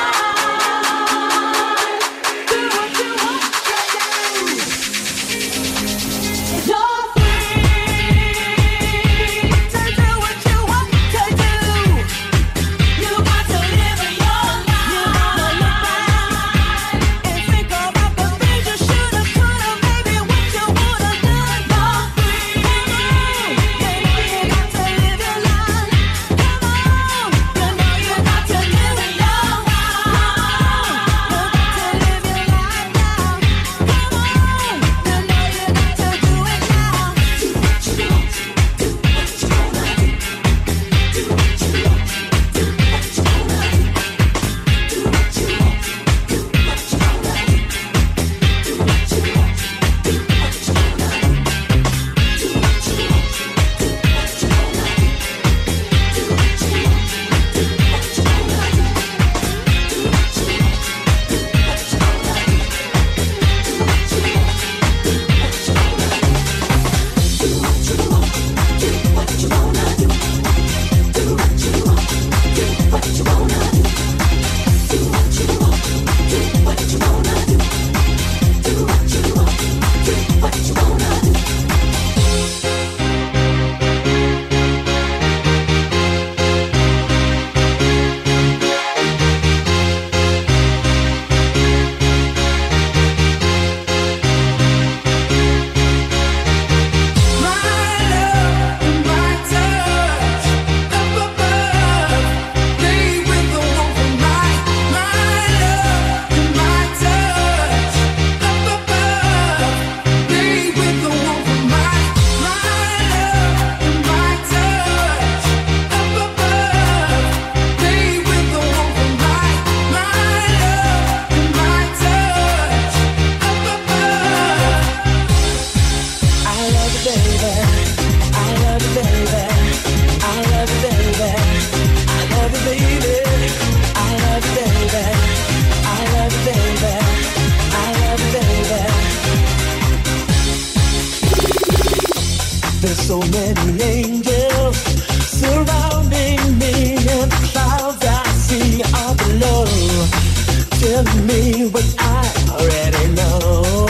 me what I already know.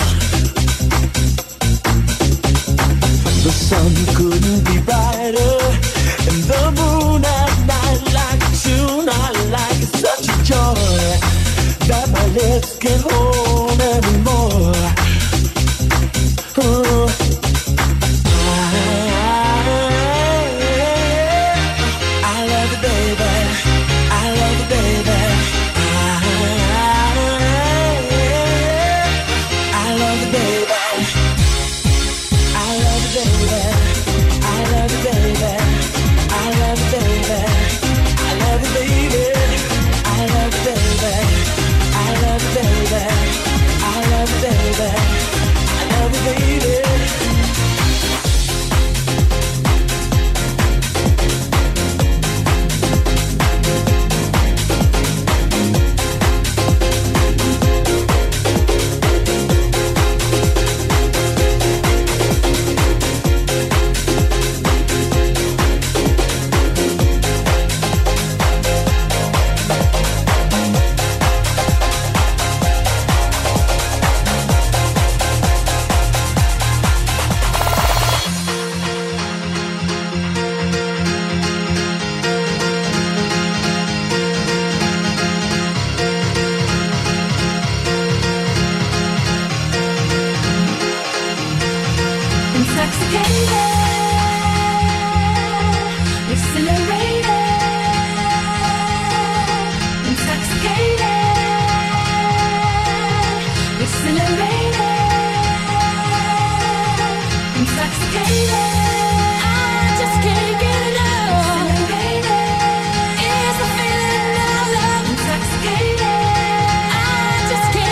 The sun couldn't be brighter, and the moon at night like a tune I like. It's such a joy that my lips can't hold anymore. Oh.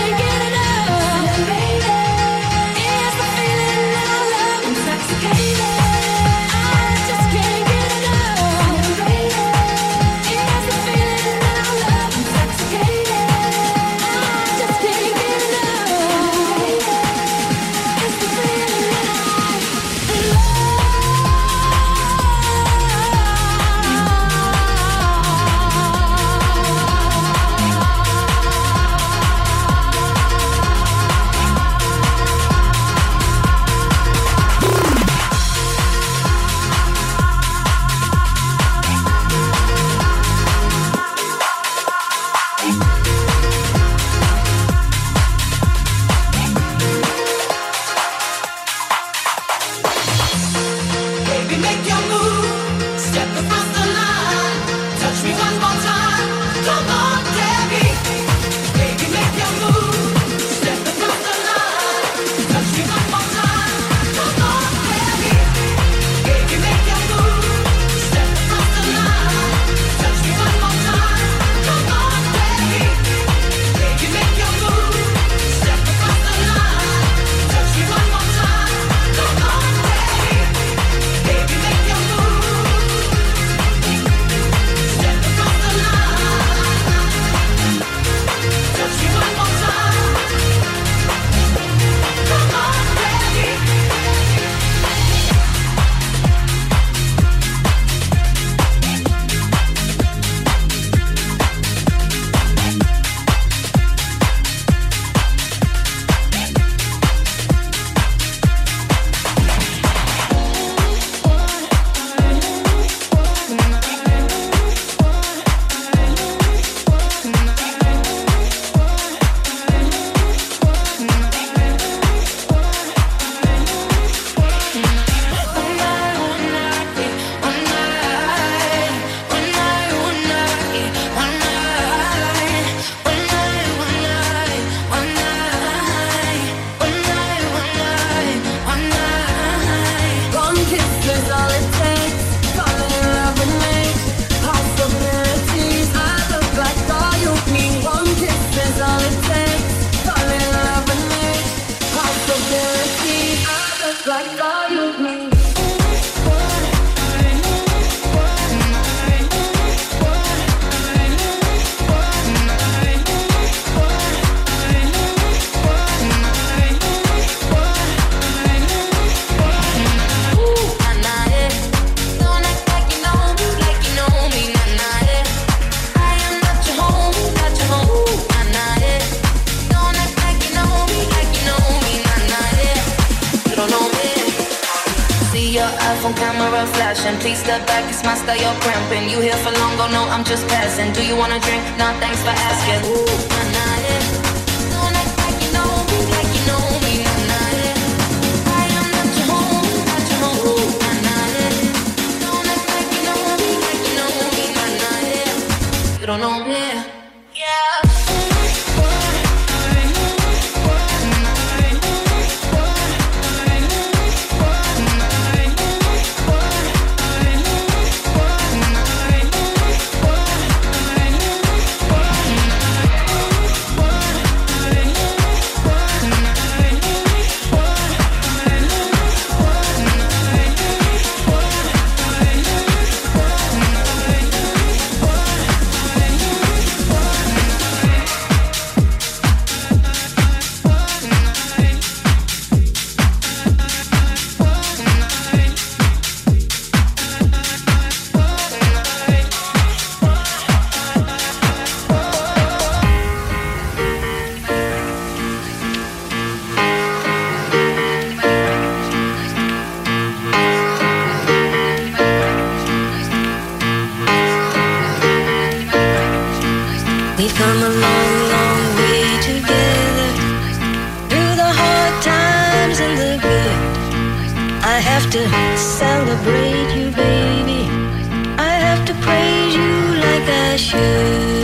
Intoxicated. iPhone camera flashing. Please step back, it's my style, you're cramping. You here for long, go no, I'm just passing. Do you wanna drink? Nah, thanks for asking. Ooh, nah, nah, yeah. Don't act like you know me, like you know me, nah, nah, yeah. I am not your home, not your home. Ooh, nah, nah, yeah. Don't act like you know me, like you know me, nah, nah, yeah. You don't know me, yeah. We've come a long, long way together, through the hard times and the good. I have to celebrate you, baby. I have to praise you like I should.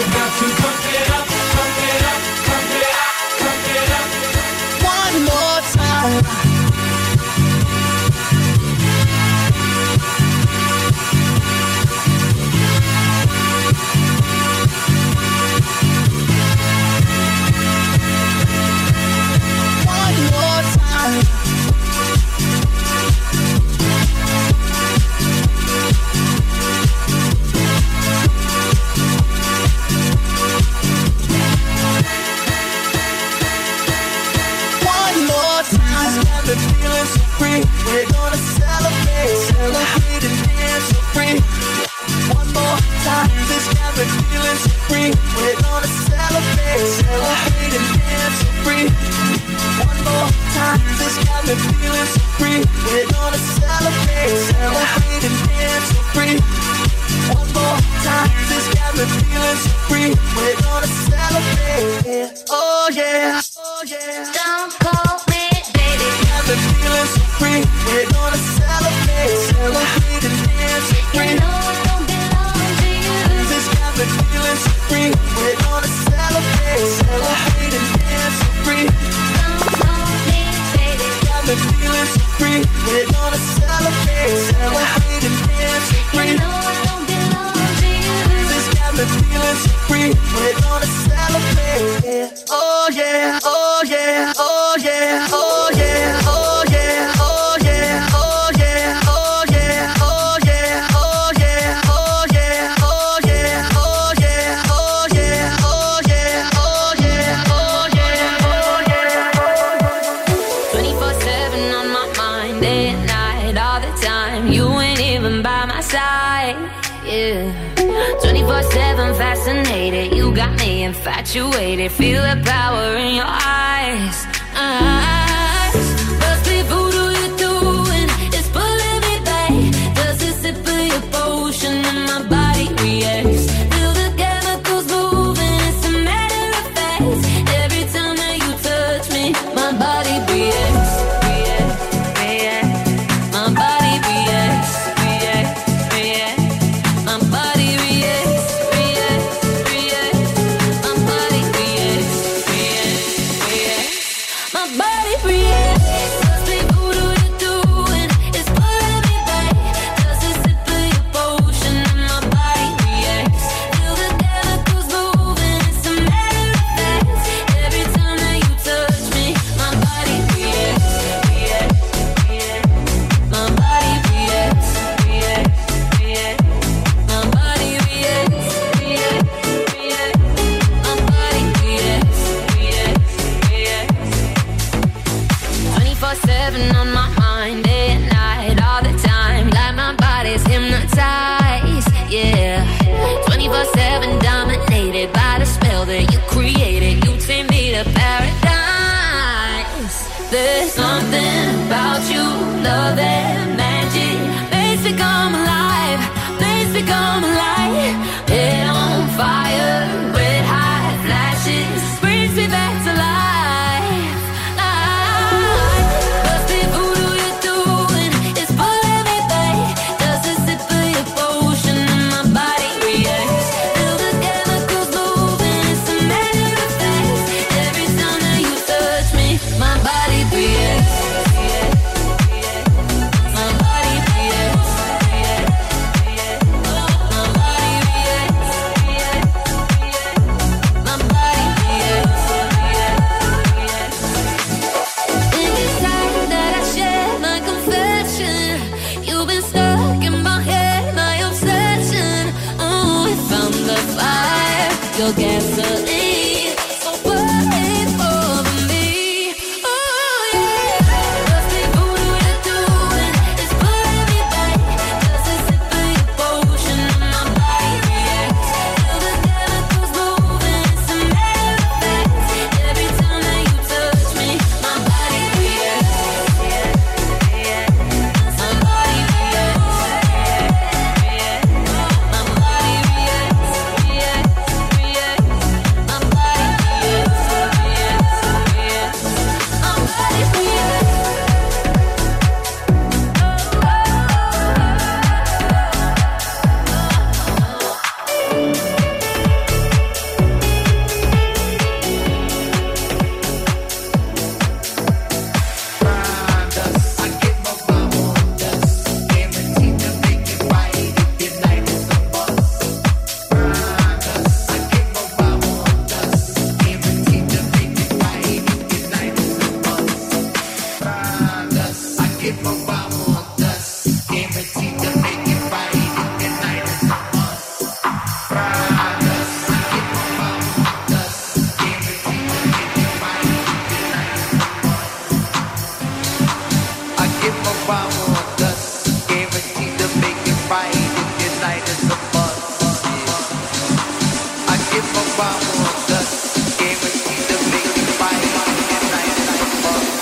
We're gonna celebrate, celebrate and dance so free. One more time, this got me feeling so free. We're gonna celebrate, celebrate and dance so free. One more time, this got me feeling so free. We're gonna celebrate, celebrate and dance so free. One more time, this got me feeling so free. We're gonna celebrate, oh yeah, oh yeah. Don't call me baby, got me feeling so free. We're gonna celebrate, celebrate and dance so free. You know I don't belong to you. This got me feeling so free. We're gonna celebrate, celebrate and dance so free. Don't call me baby, got me feeling so free. We're gonna celebrate, celebrate and dance so free. You know I don't belong to you. This got me feeling so free. We're gonna celebrate, oh yeah, oh yeah, oh yeah, oh yeah, oh yeah, oh yeah, oh yeah, oh yeah, oh yeah, oh yeah, oh yeah, oh yeah, oh yeah, oh yeah, oh yeah, oh yeah, oh yeah, oh yeah. twenty-four seven on my mind, day and night, all the time. You ain't even by my side, yeah. twenty-four seven fascinated, you got me infatuated. Feel the power in your eyes, eyes. Must be voodoo you're doing, it's pulling me back. Does a sip of your potion and my body reacts? Feel the chemicals moving, it's a matter of fact. Every time that you touch me, my body reacts, reacts, reacts. My body reacts, reacts, reacts. My body reacts, reacts, reacts. My body reacts, reacts, reacts. My body reacts. Must be voodoo you're doing, it's pulling me back. Does a sip of your potion and my body reacts? Feel the chemicals moving, it's a matter of fact. Every time that you touch me, my body reacts, reacts, reacts. My body reacts, reacts, reacts. My body reacts, reacts, reacts. My body reacts, reacts, reacts. twenty-four seven on my mind, day and night, all the time. Like my body's hypnotized, yeah. twenty-four seven dominated by the spell that you created. You take me to paradise. There's something about you, love and magic. Makes me come alive, makes me come alive. Head on fire, red hot flashes, brings me back to life, life. Must be voodoo you're doing, it's pulling me back. Does a sip of your potion and my body reacts? Feel the chemicals moving, it's a matter of fact. Every time that you touch me, my body reacts, reacts, reacts. My body reacts, reacts, reacts. My body reacts, reacts, reacts. My body reacts, reacts, reacts. In this time that I share my confession, you've been stuck in my head, my obsession. Oh, we found the fire, your gasoline. So burn it for me. Oh yeah. Must be voodoo you're doing, it's pulling me back. Does a sip of your potion and my body reacts? Feel the chemicals moving, it's a matter of fact. Every time that you touch me, my body reacts, reacts, reacts. My body reacts, reacts, reacts. My body reacts, reacts, reacts. My body reacts, reacts, reacts. My body reacts. I give my buy more dust. Guaranteed to make it right if your night is a bust. I give a buy more dust. Guaranteed to make it right if your night is a bust.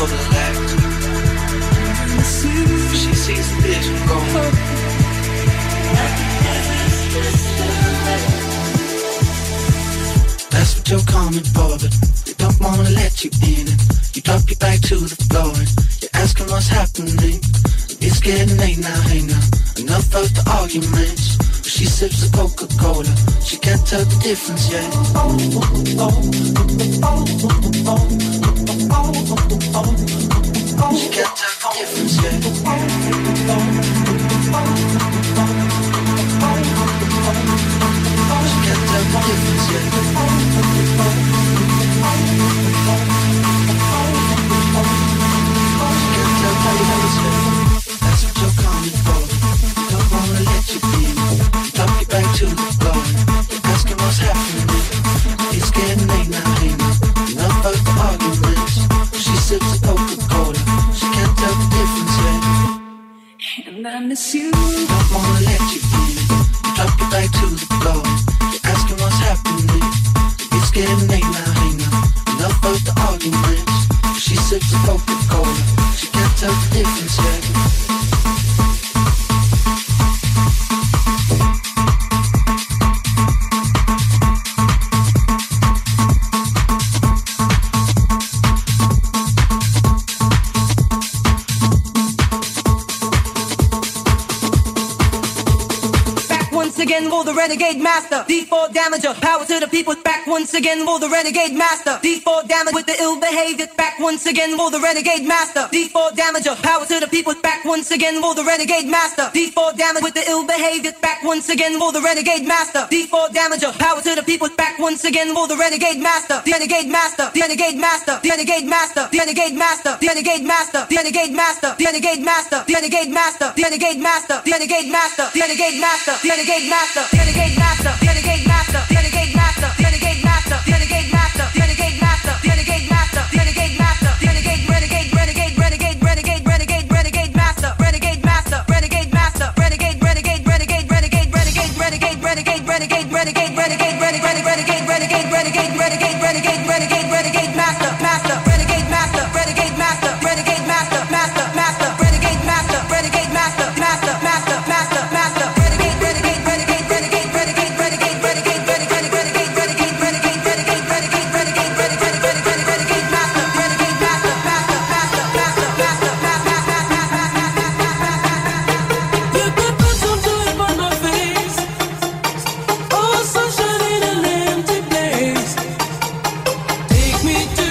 the left. She sees the vision go. That's what you're coming for, but they don't wanna let you in it. You drop your back to the floor and you're asking what's happening. It's getting late now, hey now. Enough of the arguments. She sips the Coca-Cola. She can't tell the difference yet. She can't tell the difference yet. She can't tell the difference yet. She can't tell the difference yet. That's what you're coming for. Don't wanna let you be. Drop your back to the floor. You're asking what's happening. It's getting late now, hey now. Enough of the arguments. She sips the Coca-Cola. She can't tell the difference yet. And I miss you. Don't wanna let you be. You drop your back to the floor. You're asking what's happening. It's getting late now, hey now. Enough of the arguments. She sips the Coca-Cola. She can't tell the difference yet. Again, roll the renegade master. D four damager, power to the people. Back once again, roll the renegade master. D four damage with the ill behavior. Back once again, roll the renegade master. D four damager, power to the people. Back once again, roll the renegade master. D four damage with the ill behavior. Back once again, roll the renegade master. D four damager, power to the people. Back once again, roll the renegade master. The renegade master. The renegade master. The renegade master. The renegade master. The renegade master. The renegade master. The renegade master. The renegade master. The renegade master. The renegade master. The renegade master. The renegade master. The renegade master, the renegade master, the renegade master, the renegade master, the renegade master, the renegade master, the renegade master, the renegade master, the renegade renegade renegade renegade renegade renegade renegade master, renegade master, renegade master, renegade renegade renegade renegade renegade renegade renegade renegade renegade renegade renegade renegade renegade renegade renegade renegade renegade renegade master, master, renegade master, renegade master, renegade master, master, master, renegade master, renegade master, master, master, master, master. Me to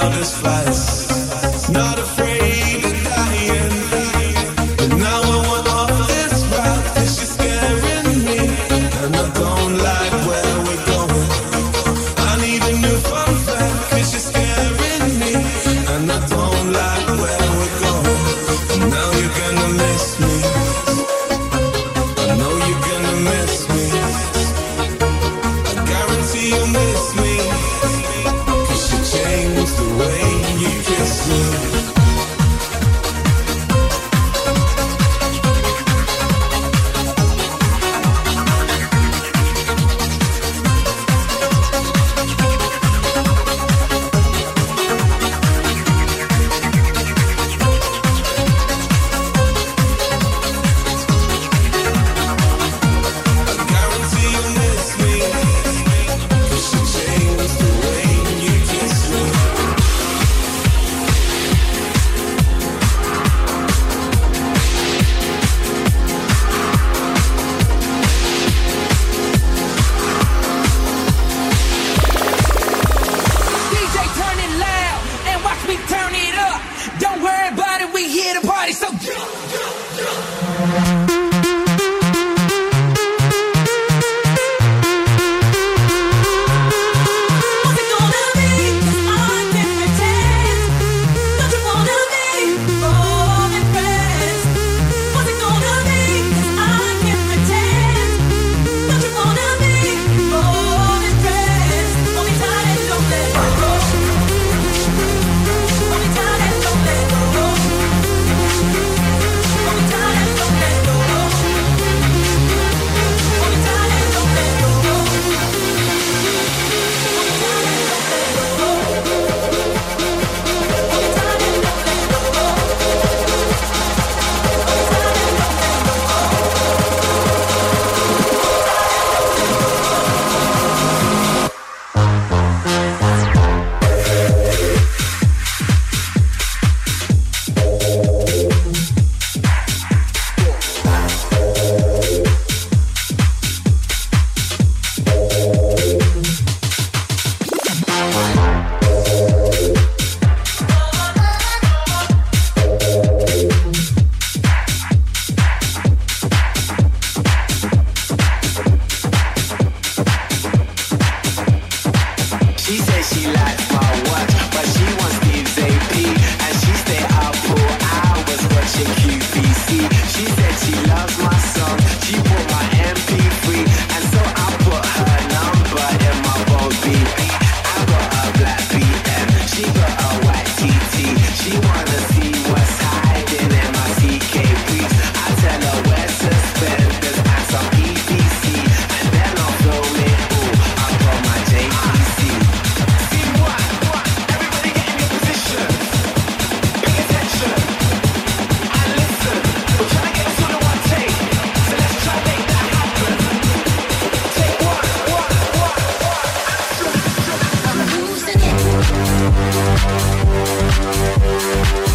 countless flights, not afraid of dying. But now I want off this route, 'cause she's scaring me, and I don't like where we're going. I need a new fun fact, 'cause she's scaring me, and I don't like where we're going. And now you're gonna miss me. I know you're gonna miss me. I guarantee you'll miss me, 'cause you changed the way you kiss me. D J, turn it loud and watch me turn it up. Don't worry about it, we here to party, so jump, jump, jump. What's it gonna be? 'Cause I can pretend. Don't you wanna be more than friends? What's it gonna be? 'Cause I can pretend. Don't you wanna be more than friends? Hold me tight and don't let go. Hold me tight and don't let go. Hold me tight and don't let go. Hold me tight and don't let go. She says she likes my watch, but she wants Steve's A P, and she stay up for hours watching Q V C. She said she loves my song, she bought my M P three, and so I put her number in my bold B B. I got a black B M, she got a white T T. She wanna see what's hiding in my C K briefs. I tell her wear suspenders and some E D C, and then I'll film it all. I got my J P C. See what? Everybody get in your position. Pay attention and listen. We're trying to get us all in one take, so let's try to make that happen. Take one, one, one, one.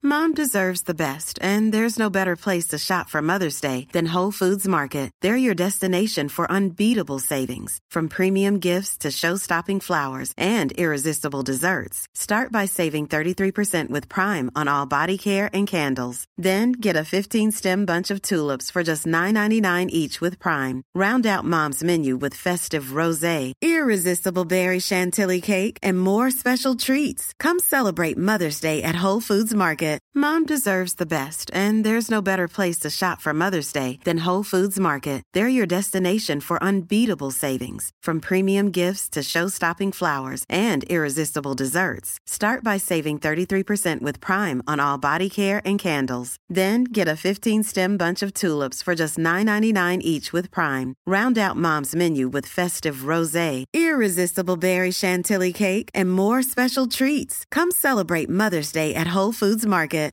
Mom deserves the best, and there's no better place to shop for Mother's Day than Whole Foods Market. They're your destination for unbeatable savings, from premium gifts to show-stopping flowers and irresistible desserts. Start by saving thirty-three percent with Prime on all body care and candles. Then get a fifteen-stem bunch of tulips for just nine ninety-nine each with Prime. Round out Mom's menu with festive rosé, irresistible berry chantilly cake, and more special treats. Come celebrate Mother's Day at Whole Foods Market. Mom deserves the best, and there's no better place to shop for Mother's Day than Whole Foods Market. They're your destination for unbeatable savings, from premium gifts to show-stopping flowers and irresistible desserts. Start by saving thirty-three percent with Prime on all body care and candles. Then get a fifteen-stem bunch of tulips for just nine ninety-nine each with Prime. Round out Mom's menu with festive rosé, irresistible berry chantilly cake, and more special treats. Come celebrate Mother's Day at Whole Foods Market.